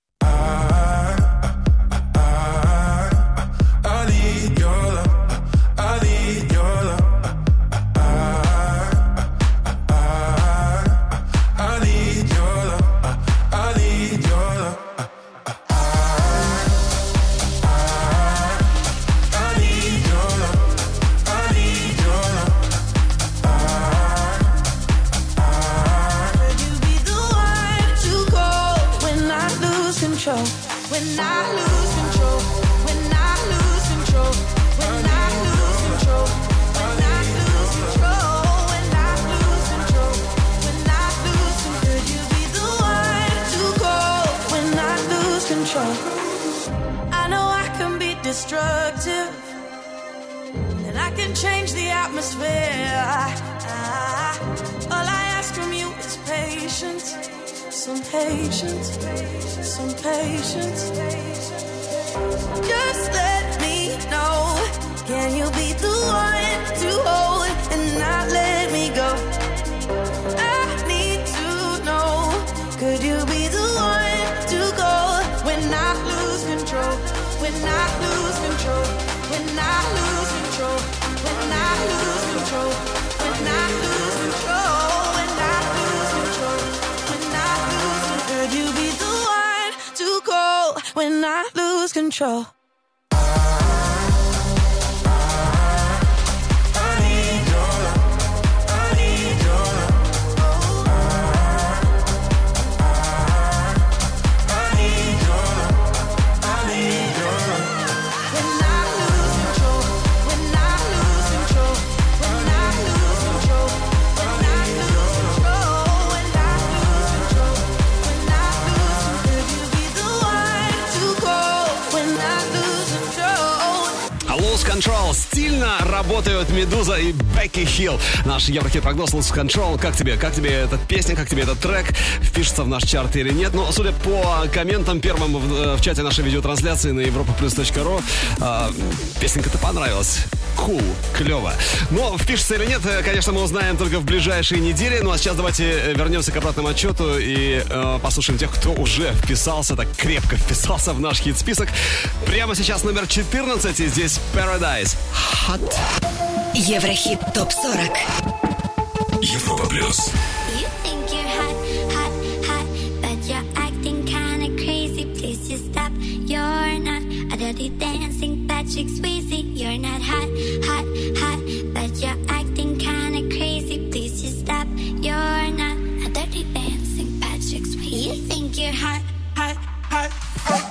When I lose control, when I lose control, when I lose control, when I lose control, when I lose control, when I lose control, could you be the one to call when I lose control? I know I can be destructive, and I can change the atmosphere. All I ask from you is patience. Some patience, some patience. Just let me know, can you be the one to hold and not let me go? I need to know, could you be the one to go when I lose control? When I lose control, when I lose control, when I lose control, when I lose control. Could you be the one to call when I lose control? When I работают Медуза и Бекки Хилл. Наш Еврохит-прогноз Lose Control. Как тебе эта песня, как тебе этот трек? Впишется в наш чарт или нет? Ну, судя по комментам первым в чате нашей видеотрансляции на europaplus.ru, песенка-то понравилась. Cool, клево. Но впишется или нет, конечно, мы узнаем только в ближайшие недели. Ну а сейчас давайте вернемся к обратному отчету и послушаем тех, кто уже вписался, так крепко вписался в наш хит-список. Прямо сейчас номер 14, и здесь Paradise. Hot. Еврохит ТОП-40. Европа Плюс. Dancing Patrick Swayze, you're not hot, hot, hot, but you're acting kinda crazy. Please just stop. You're not a dirty dancing Patrick Swayze. You think you're hot, hot, hot, hot.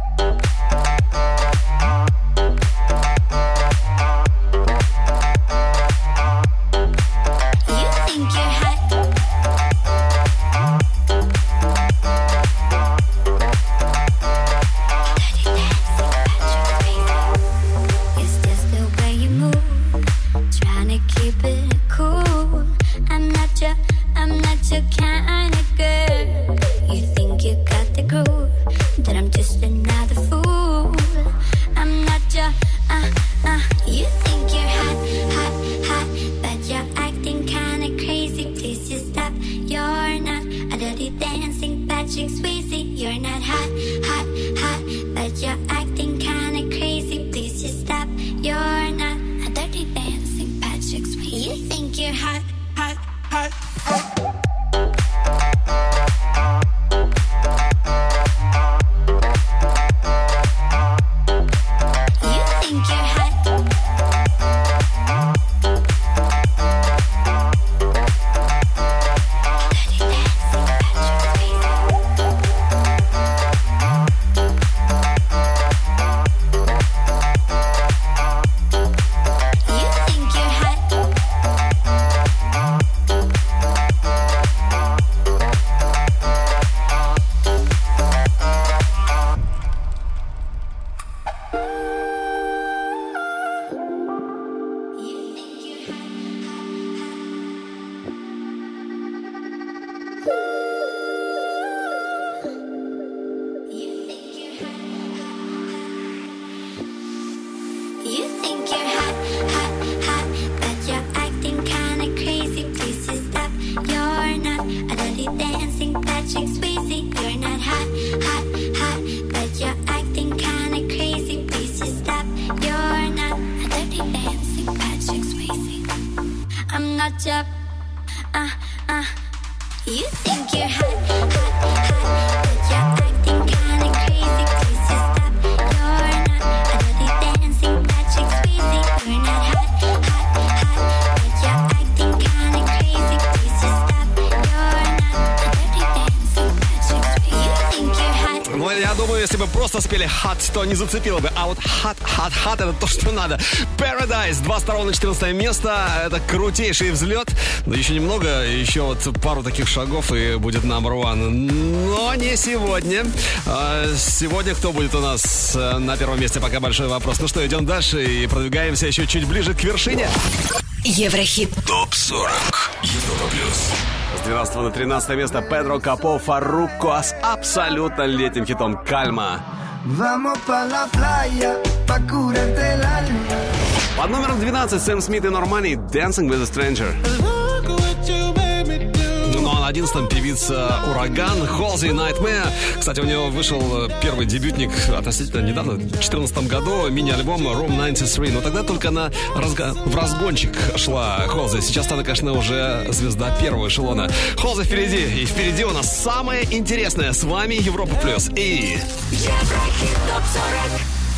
Спели hot, то не зацепило бы. А вот hot это то, что надо. Paradise, 22 на 14 место. Это крутейший взлет. Но еще немного, еще вот пару таких шагов и будет number one. Но не сегодня. Сегодня кто будет у нас на первом месте? Пока большой вопрос. Ну что, идем дальше и продвигаемся еще чуть ближе к вершине. Еврохит ТОП-40. Европа Плюс. С 12 на 13 место Педро Капо Фарруко с абсолютно летним хитом «Кальма». Под номером 12 Сэм Смит и Нормани «Dancing with a Stranger». Ну а на 11-м певица «Ураган» Halsey Nightmare. Кстати, у него вышел первый дебютник относительно недавно, в 2014 году, мини-альбом Room 93. Но тогда только она в разгончик шла Halsey. Сейчас она, конечно, уже звезда первого эшелона. Halsey впереди. И впереди у нас самое интересное. С вами Европа Плюс. И... Еврохит ТОП-40.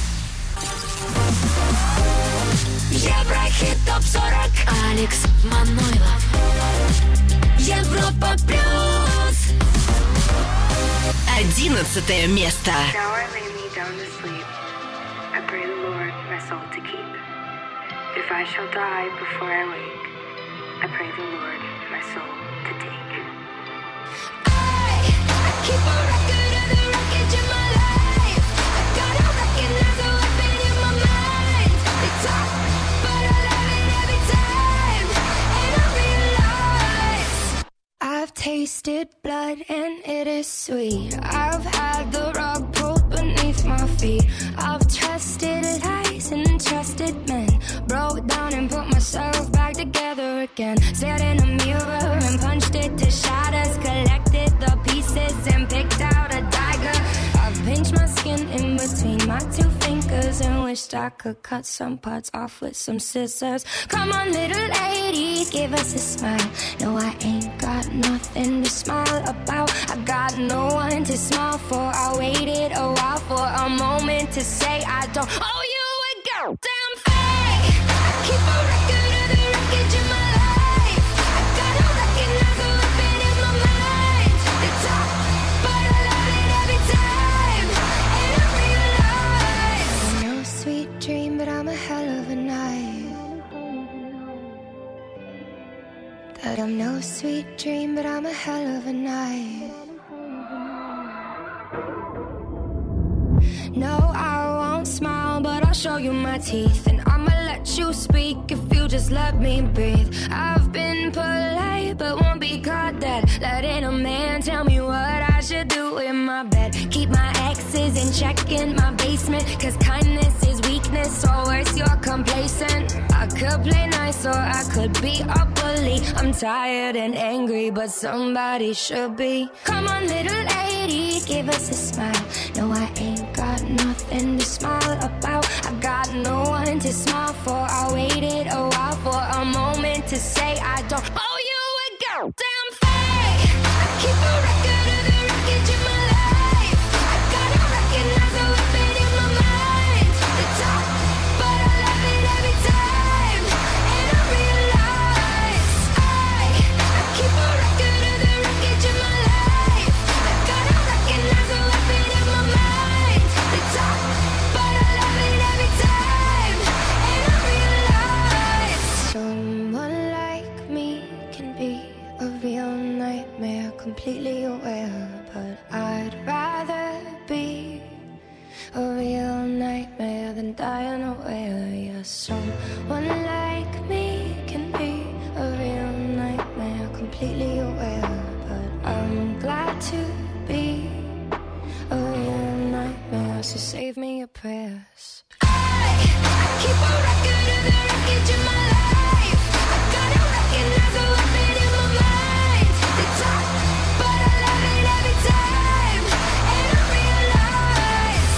Еврохит ТОП-40. Алекс Манойлов. Европа Плюс. 11 место. Now I lay me down to sleep. I pray the Lord my soul to keep. If I shall die before I wake, I pray the Lord my soul to take. I keep a record of the wreckage in my life. I gotta recognize the weapon in my mind. They talk, but I let tasted blood and it is sweet. I've had the rug pulled beneath my feet. I've trusted lies and trusted men. Broke down and put myself back together again. Stared in a mirror and punched it to shatters. Collected the pieces and picked out a dagger. I've pinched my skin in between my two fingers and wished I could cut some parts off with some scissors. Come on, little lady, give us a smile. No, I ain't got nothing to smile about. I got no one to smile for. I waited a while for a moment to say I don't owe you a goddamn thing. I keep a record of the wreckage in my life. I gotta recognize the weapon in my mind. It's tough, but I love it every time. And I realize I'm no sweet dream, but I'm a hell of a night. That I'm no sweet dream, but I'm a hell of a night. No, I won't smile, but I'll show you my teeth. And I'ma let you speak if you just let me breathe. I've been polite, but won't be caught dead. Letting a man tell me what I should do in my bed. Keep my exes in check in my basement. Cause kindness is weakness, or worse, you're complacent. I could play nice or I could be a bully. I'm tired and angry, but somebody should be. Come on, little lady, give us a smile. No, I ain't got nothing to smile about. I got no one to smile for. I waited a while for a moment to say I don't owe you a goddamn thing. I keep a record of the wreckage in my life. I gotta recognize the weapon in my mind. It's tough, but I love it every time. And I realize I keep a record of the wreckage in my life. I gotta recognize the weapon in my mind. It's tough, but I love it every time. And I realize someone like me can be a real nightmare, completely aware. But I'd rather be a real nightmare than die unaware. Yeah, someone like me can be a real nightmare, completely aware. But I'm glad to be a real nightmare, so save me your prayers. I keep a record of the wreckage in my life. I gotta recognize the weapon in my mind. It's tough, but I love it every time. And I realize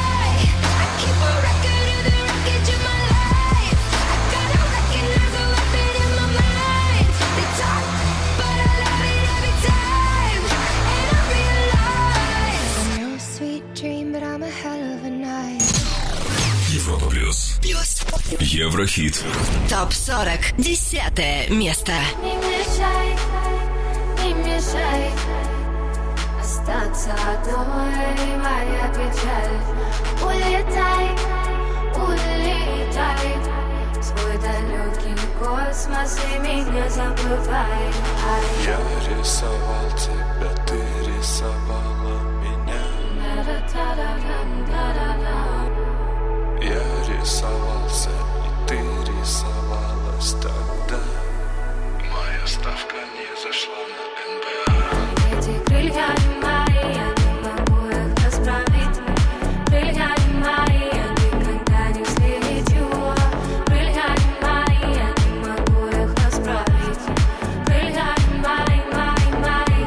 I keep a record of the wreckage in my life. I gotta recognize the weapon in my mind. It's tough, but I love it every time. And I realize I'm no sweet dream, but I'm a hell of a night. Европа плюс. Еврохит. ТОП-40. 10 место. Не мешай остаться одной, моя печаль. Улетай, улетай в свой далекий космос и меня забывай. Я рисовал тебя, ты рисовала меня. Я рисовался, и ты рисовалась тогда. Моя ставка не зашла на НБА. Эти крылья не мои, я не могу их расправить. Крылья не мои, я никогда не взлечу. Крылья не мои, я не могу их расправить. Крылья не мои, мои, мои.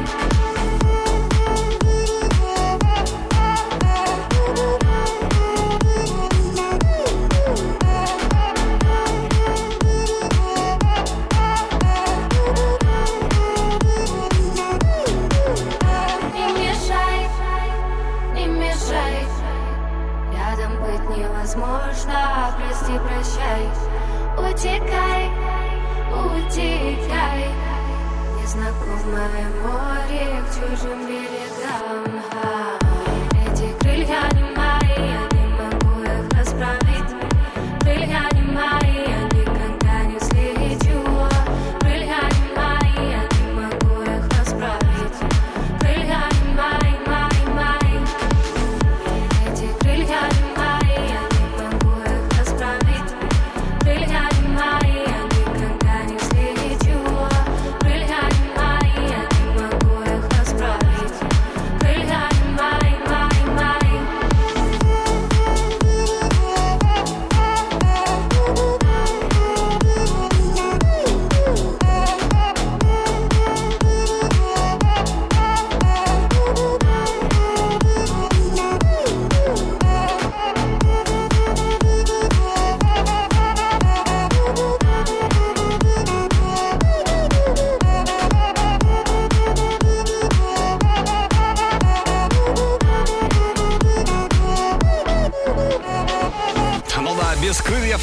Невозможно, прости, прощай. Утекай, утекай. Незнакомое море к чужим берегам. Эти крылья не мои, я не могу их расправить. Крылья не мои, я никогда не взлечу. Крылья не мои, я не могу их расправить. Крылья не мои, мои, мои. Эти крылья не мои, я не могу их расправить. Крылья не мои, я никогда не взлечу. Крылья не мои, я не могу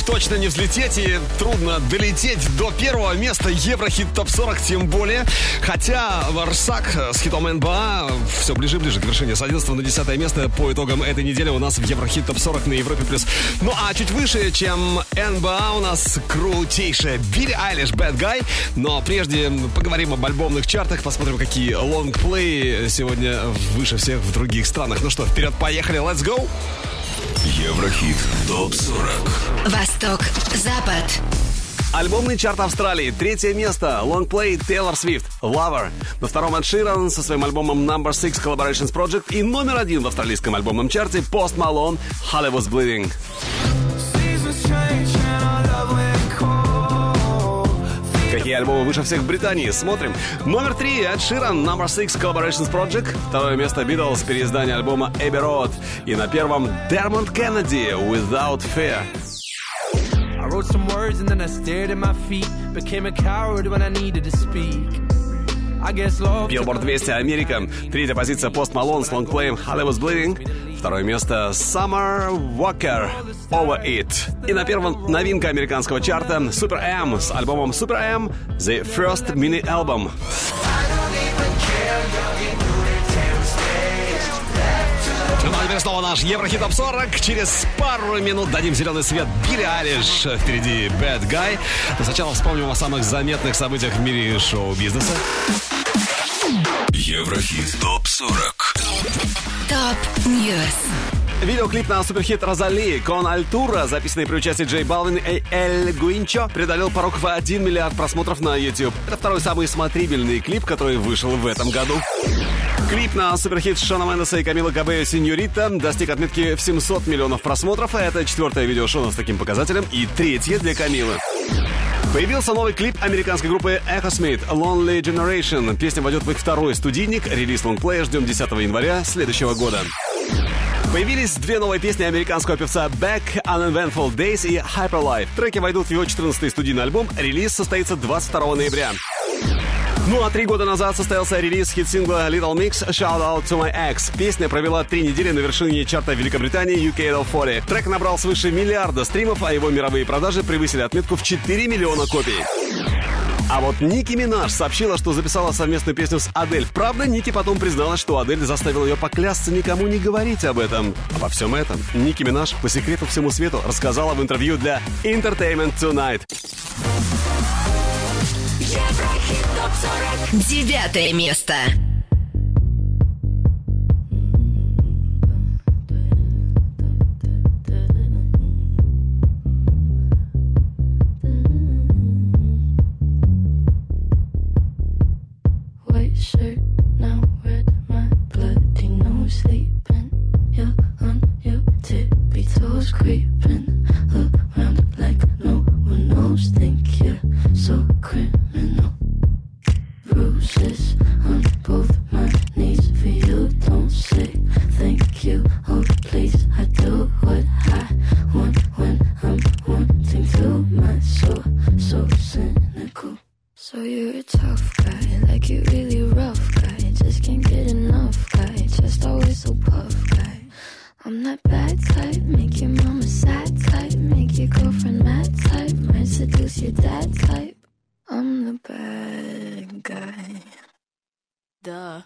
точно не взлететь и трудно долететь до первого места Еврохит ТОП-40 тем более. Хотя Варсак с хитом НБА все ближе и ближе к вершине. С 11 на 10 место по итогам этой недели у нас в Еврохит ТОП-40 на Европе+. Ну а чуть выше, чем НБА, у нас крутейшая Билли Айлиш Bad Guy. Но прежде поговорим об альбомных чартах, посмотрим, какие лонгплеи сегодня выше всех в других странах. Ну что, вперед, поехали, let's go! Еврохит ТОП-40. Восток, Запад. Альбомный чарт Австралии. 3 место. Лонгплей Тейлор Свифт. Lover. На втором Эд Ширан со своим альбомом Number 6 Collaborations Project. И номер 1 в австралийском альбомном чарте Post Malone Hollywood's Bleeding. Какие альбомы выше всех в Британии? Смотрим. Номер 3 Эд Ширан Number 6 Collaborations Project. Второе место Beatles, переиздание альбома Abbey Road. И на первом Dermot Kennedy Without Fear. I wrote some words and then I stared at my feet. Became a coward when I needed to speak. Billboard 200 Америка. Третья позиция Post Malone с лонгплеем Hollywood's Bleeding. Второе место Summer Walker Over It. И на первом новинка американского чарта Super M с альбомом Super M The First Mini Album. Ну а теперь снова наш Еврохит ТОП-40. Через пару минут дадим зеленый свет Билли Айлиш. Впереди Bad Guy. Но сначала вспомним о самых заметных событиях в мире шоу-бизнеса. Еврохит ТОП-40. ТОП-Ньюс. Видеоклип на суперхит Розали «Con Altura», записанный при участии Джей Балвин и Эль Гуинчо, преодолел порог в 1 миллиард просмотров на YouTube. Это второй самый смотрибельный клип, который вышел в этом году. Клип на суперхит Шона Мендеса и Камилы Кабео «Синьорита» достиг отметки в 700 миллионов просмотров, а это четвертое видео Шона с таким показателем и третье для Камилы. Появился новый клип американской группы Echo Smith «Lonely Generation». Песня войдет в их второй студийник. Релиз лонгплея ждем 10 января следующего года. Появились две новые песни американского певца Beck, Uneventful Days и Hyperlife. Треки войдут в его 14-й студийный альбом. Релиз состоится 22 ноября. Ну а 3 года назад состоялся релиз хит-сингла Little Mix «Shout Out to My Ex». Песня провела 3 недели на вершине чарта Великобритании UK Top 40. Трек набрал свыше 1 миллиарда стримов, а его мировые продажи превысили отметку в 4 миллиона копий. А вот Ники Минаж сообщила, что записала совместную песню с Адель. Правда, Ники потом призналась, что Адель заставила ее поклясться никому не говорить об этом. Обо всем этом Ники Минаж по секрету всему свету рассказала в интервью для Entertainment Tonight. 9 место. White shirt, now red, my bloody nose sleeping. You're on your tippy toes, creeping around like no one knows. Think you're so criminal. Bruises on both my knees for you. Don't say thank you. Oh please, I do what I want when I'm wanting to. My soul so cynical. So you're a tough guy, like you really rough guy. Just can't get enough guy, just always so puff guy. I'm that bad type, make your mama sad type, make your girlfriend mad type, might seduce your dad type. I'm the bad guy. Duh.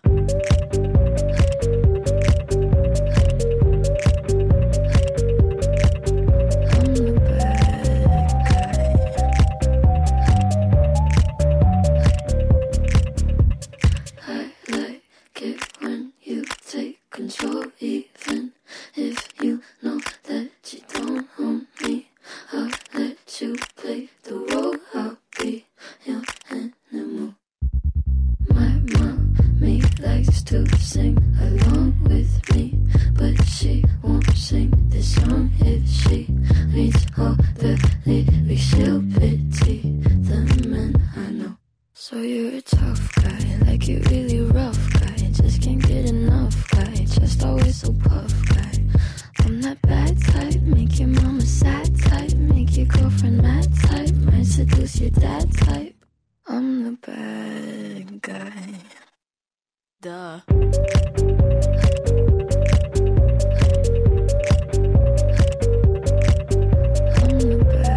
Control, even if you know that you don't own me. I'll let you play the role. I'll be your animal. My mommy likes to sing along with me, but she won't sing this song if she reads all the lyrics. She'll pity the men I know. So you're a tough guy, like you really rough guy. Just can't get enough guy, just always so puff guy. I'm that bad type, make your mama sad type, make your girlfriend mad type, might seduce your dad type. I'm the bad guy. Duh. I'm the bad guy.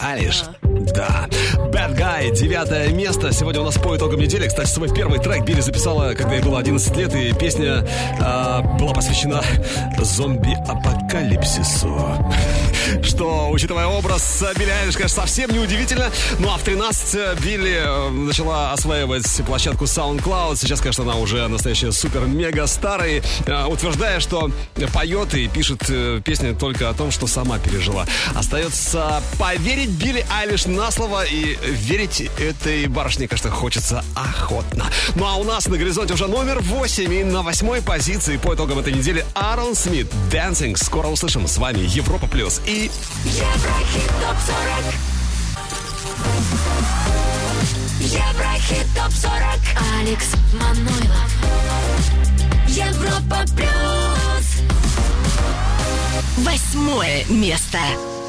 Айлиш. Да. Bad Guy, 9 место. Сегодня у нас по итогам недели. Кстати, свой первый трек Билли записала, когда ей было 11 лет, и песня была посвящена зомби-апокалипсису. Что, учитывая образ Билли Айлиш, конечно, совсем не удивительно. Ну а в 13 Билли начала осваивать площадку SoundCloud. Сейчас, конечно, она уже настоящая супер-мега-стар. И утверждая, что поет и пишет песни только о том, что сама пережила. Остается поверить Билли Айлиш на слово, и верить этой барышне, конечно, хочется охотно. Ну а у нас на горизонте уже номер 8, и на 8-й позиции по итогам этой недели Аарон Смит, Dancing. Скоро услышим. С вами Европа Плюс и Еврохит ТОП-40. Еврохит ТОП-40. Алекс Манойлов. Европа Плюс. 8 место.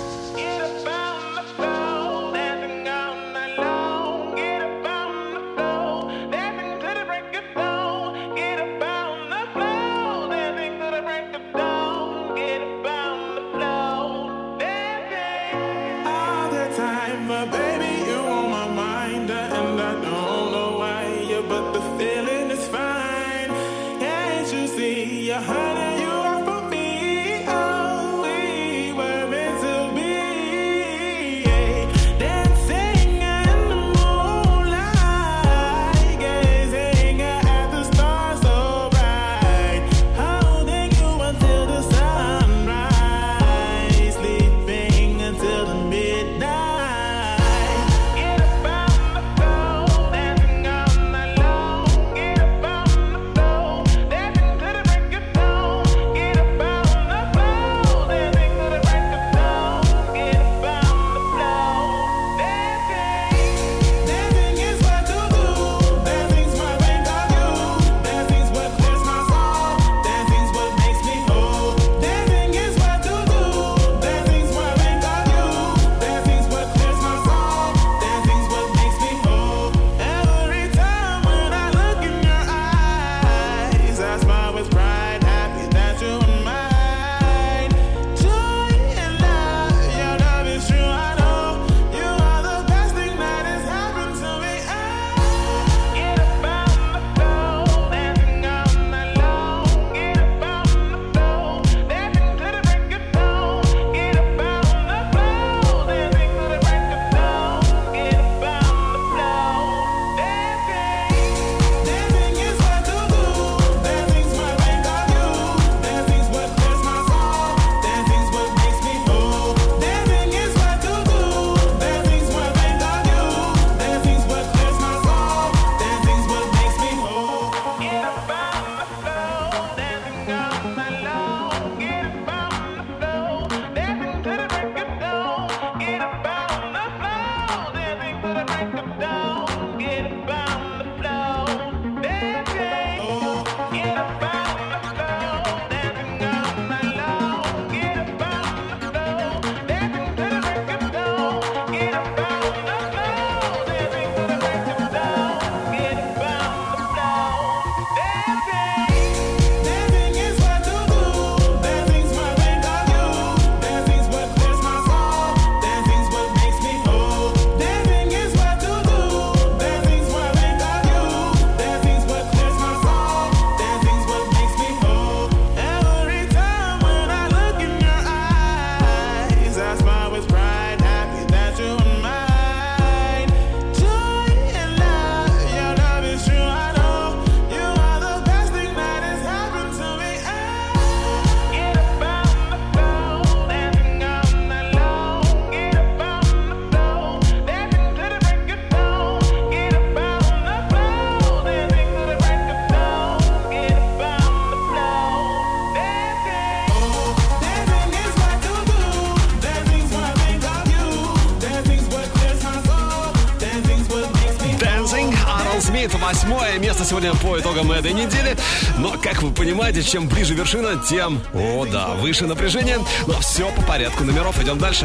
Смит, 8 место сегодня по итогам этой недели. Но, как вы понимаете, чем ближе вершина, тем, о да, выше напряжение. Но все по порядку номеров, идем дальше.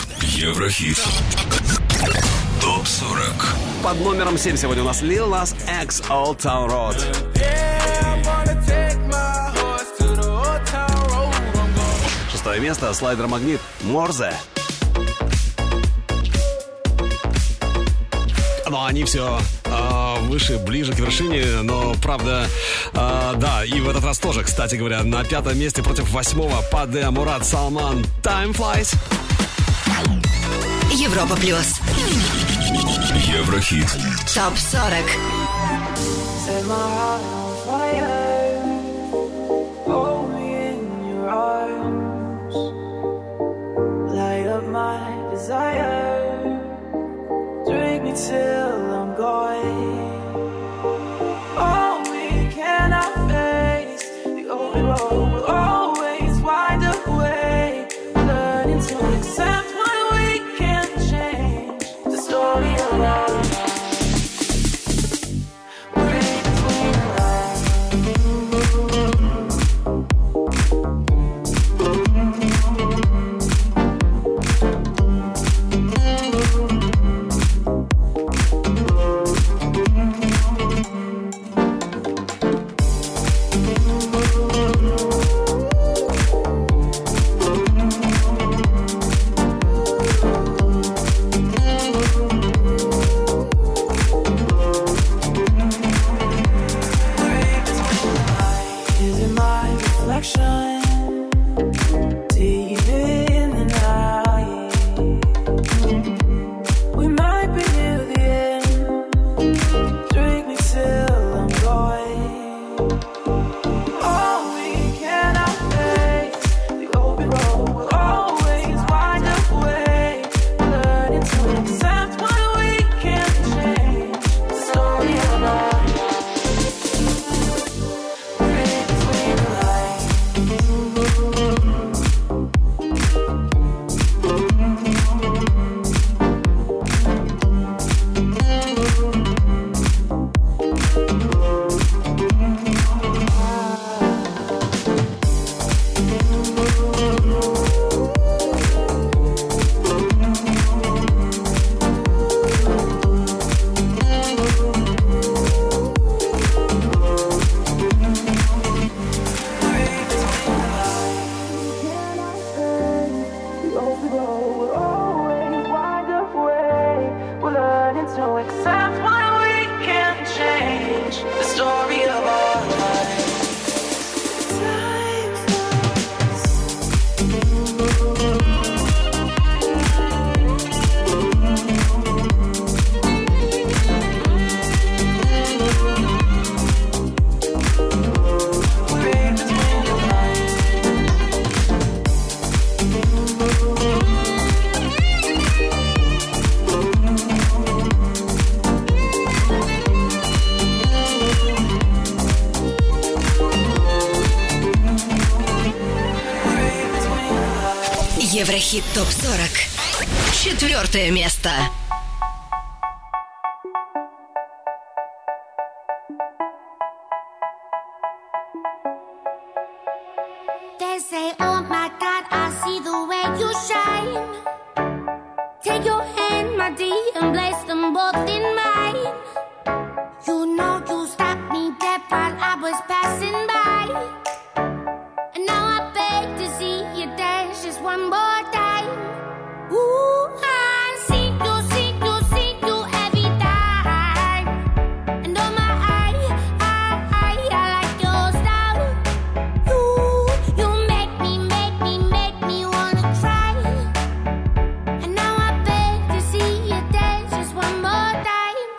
Еврохит ТОП-40. Под номером 7 сегодня у нас Lil Nas X, Old Town Road. Шестое место, Слайдер Магнит, Морзе. но они все выше, ближе к вершине. Но, правда, да, и в этот раз тоже, кстати говоря, на 5-м месте против 8-го Паде, Мурат, Салман, Time Flies. Европа плюс. Еврохит. Топ 40. Set my heart on fire. Hold me in your arms. Light up my desire. Drink me till I'm gone. Oh, we cannot face the open road. We'll always wind up way. Learning to accept when we can't change the story of our lives. Еврохит ТОП-40. 4-е место. They say, oh my God, I see the way you shine. Take your hand, my dear, and place them both in mine. You know you stopped me dead while I was passing by. And now I beg to see you dance just one more time. Ooh, I see you every time. And oh my, I like your style. You make me wanna cry. And now I beg to see you dance just one more time.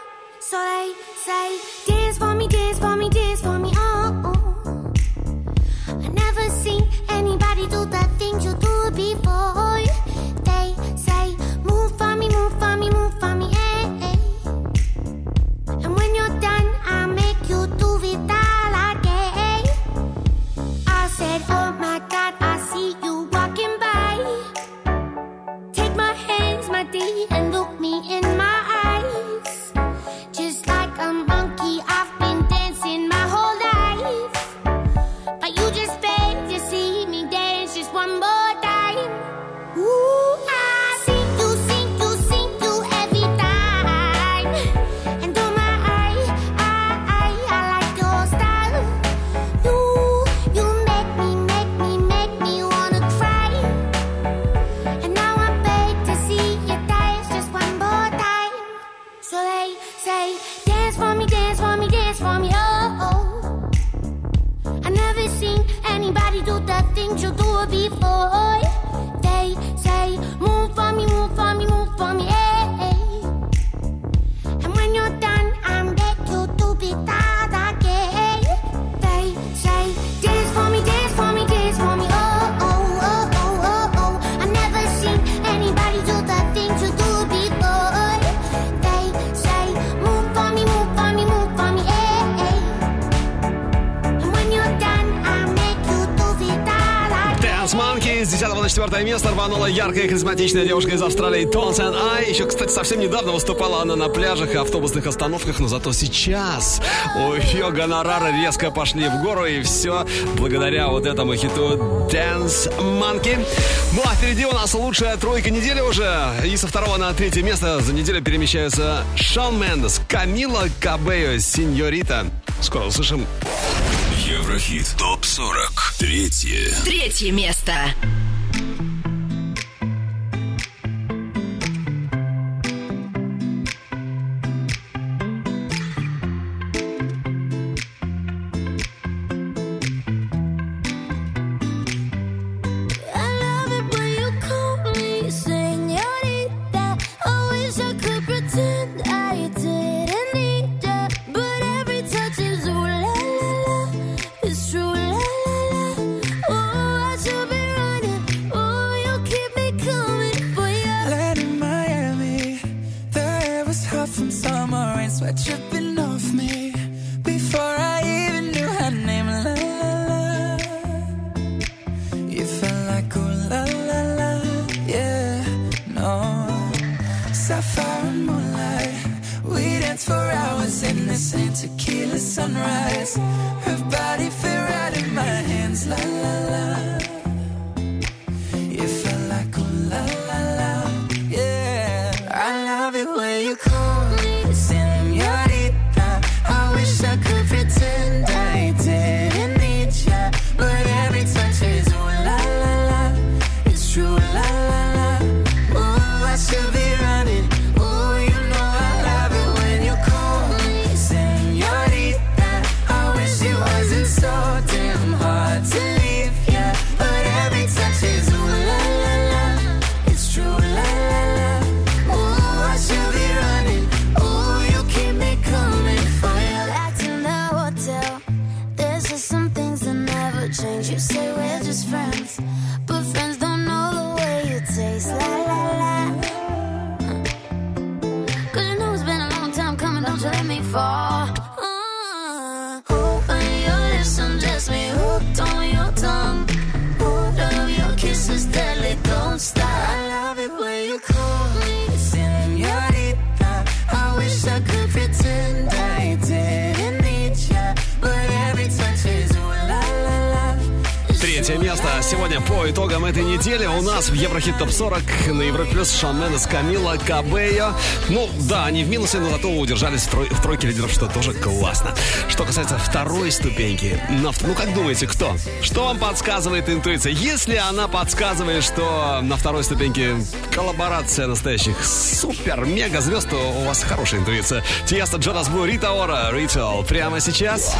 4 место рванула яркая харизматичная девушка из Австралии Tones and I. Еще, кстати, совсем недавно выступала она на пляжах и автобусных остановках, но зато сейчас у ее гонорары резко пошли в гору, и все благодаря вот этому хиту Dance Monkey. Ну а впереди у нас лучшая тройка недели уже, и со 2 на 3 место за неделю перемещаются Шон Мендес, Камила Кабелло, Синьорита. Скоро услышим. Еврохит ТОП-40. Третье место. Сегодня по итогам этой недели у нас в Еврохит ТОП-40 на Европе Плюс Шон Мендес, Камила Кабелло. Ну да, они в минусе, но зато удержались в тройке лидеров, что тоже классно. Что касается второй ступеньки, ну как думаете, кто? Что вам подсказывает интуиция? Если она подсказывает, что на второй ступеньке коллаборация настоящих супер-мега-звезд, то у вас хорошая интуиция. Тиеста, Джонас Блу, Рита Ора, Ritual. Прямо сейчас.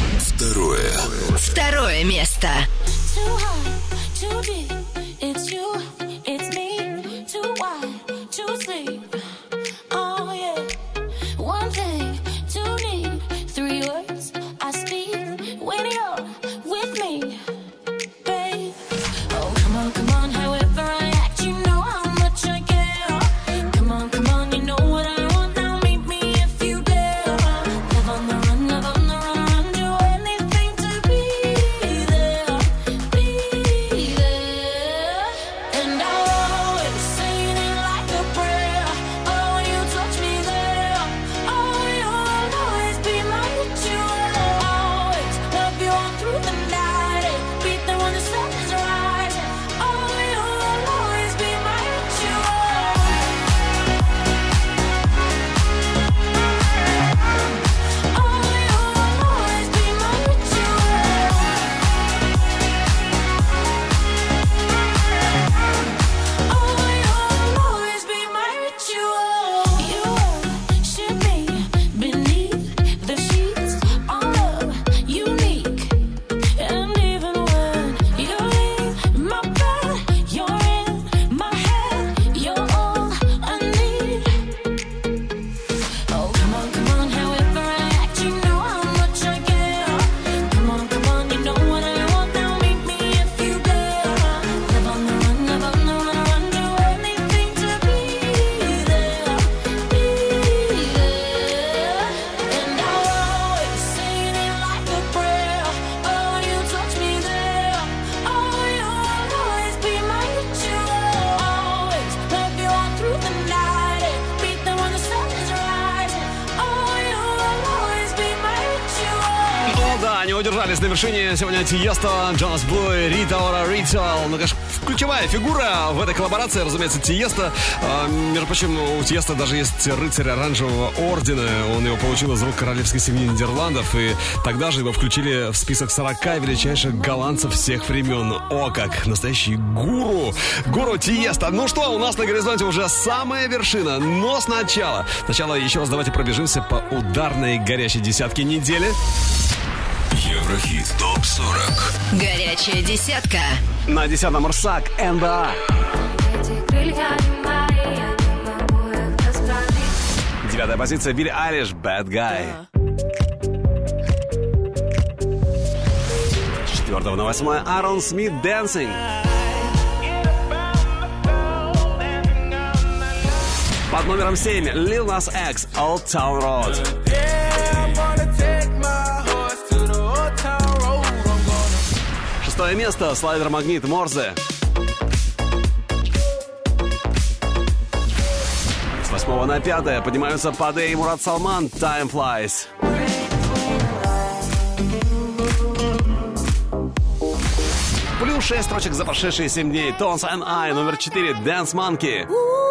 Второе место. Too high, too deep, it's you, it's me, too wide, too sleep, oh yeah, one thing, too need, 3 words I speak, when you're with me, babe, oh come on, however I act, you know how much I care, come on, you know what I want, now meet me if you dare, live on the run, do anything to be there. удержались на вершине. Сегодня Тиесто, Джонас Блу, Рита Ора, Ritual. Ну, конечно, ключевая фигура в этой коллаборации, разумеется, Тиесто. Между прочим, у Тиесто даже есть рыцарь оранжевого ордена. Он его получил из рук королевской семьи Нидерландов. И тогда же его включили в список 40 величайших голландцев всех времен. О, как настоящий гуру. Гуру Тиесто. Ну что, у нас на горизонте уже самая вершина. Но сначала еще раз давайте пробежимся по ударной горячей десятке недели. Еврохит ТОП-40. Горячая десятка. На 10-м Рсак, НБА. 9-я позиция, Билли Айлиш, Bad Guy. 4 на 8 Аарон Смит, Dancing. Под номером 7 Lil Nas X, Old Town Road. 6 место, слайдер Магнит, Морзе. С 8 на 5 поднимаются Паде и Мурат Салман, Time Flies. Плюс 6 строчек за прошедшие 7 дней. Tones and I, номер 4, Dance Monkey.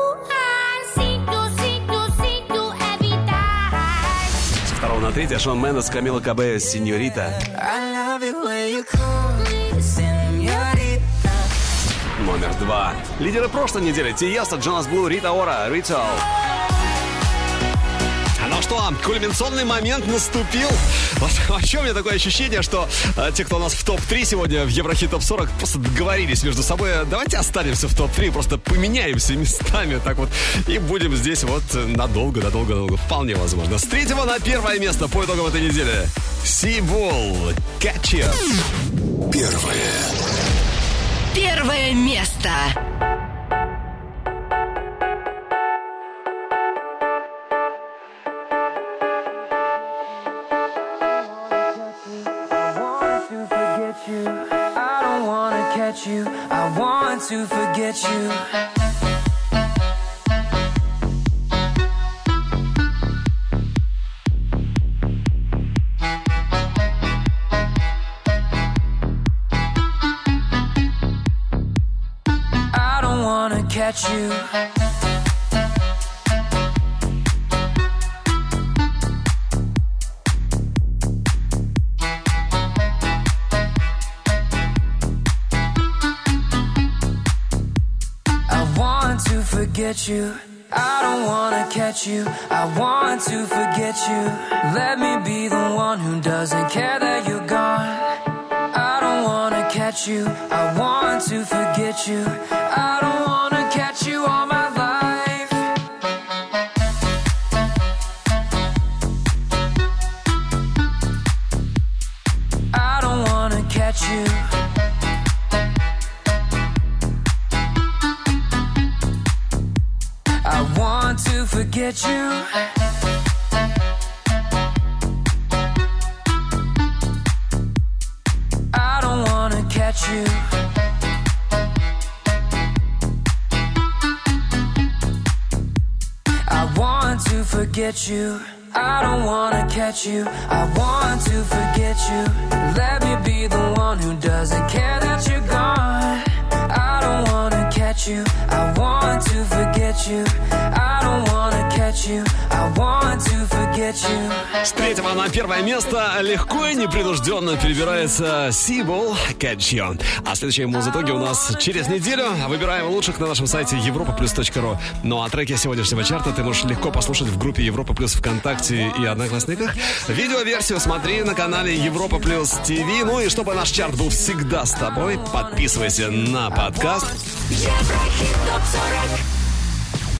С 2 на 3 Шон Мендес, Камила Кабео, Синьорита. Номер 2. Лидеры прошлой недели. Тиесто, Джонас Блу, Рита Ора, Ritual. Ну что, кульминационный момент наступил. Вот вообще у меня такое ощущение, что те, кто у нас в топ-3 сегодня в Еврохит ТОП-40, просто договорились между собой. Давайте останемся в топ-3, просто поменяемся местами так вот и будем здесь вот надолго. Вполне возможно. С 3 на 1 место по итогам этой недели. Seabull, Catch You. Первое место. You. I want to forget you. I don't wanna catch you. Forget you. I don't wanna catch you. I want to forget you. Let me be the one who doesn't care that you're gone. I don't wanna catch you. I want to forget you. I don't wanna catch you all my life. I don't wanna catch you. To forget you. I don't wanna catch you. I want to forget you. I don't wanna catch you. I want to forget you. Let me be the one who doesn't care that you're gone. I don't wanna catch you. I want to forget you. I don't wanna catch you. I want to forget you. С 3 на 1 место легко и непринужденно перебирается Seabull, Catch You. А следующие музытоги у нас через неделю. Выбираем лучших на нашем сайте europaplus.ru. Ну а треки сегодняшнего чарта ты можешь легко послушать в группе Европа Плюс ВКонтакте и Одноклассниках. Видеоверсию смотри на канале Европа Плюс ТВ. Ну и чтобы наш чарт был всегда с тобой, подписывайся на подкаст. Еврохит ТОП-40.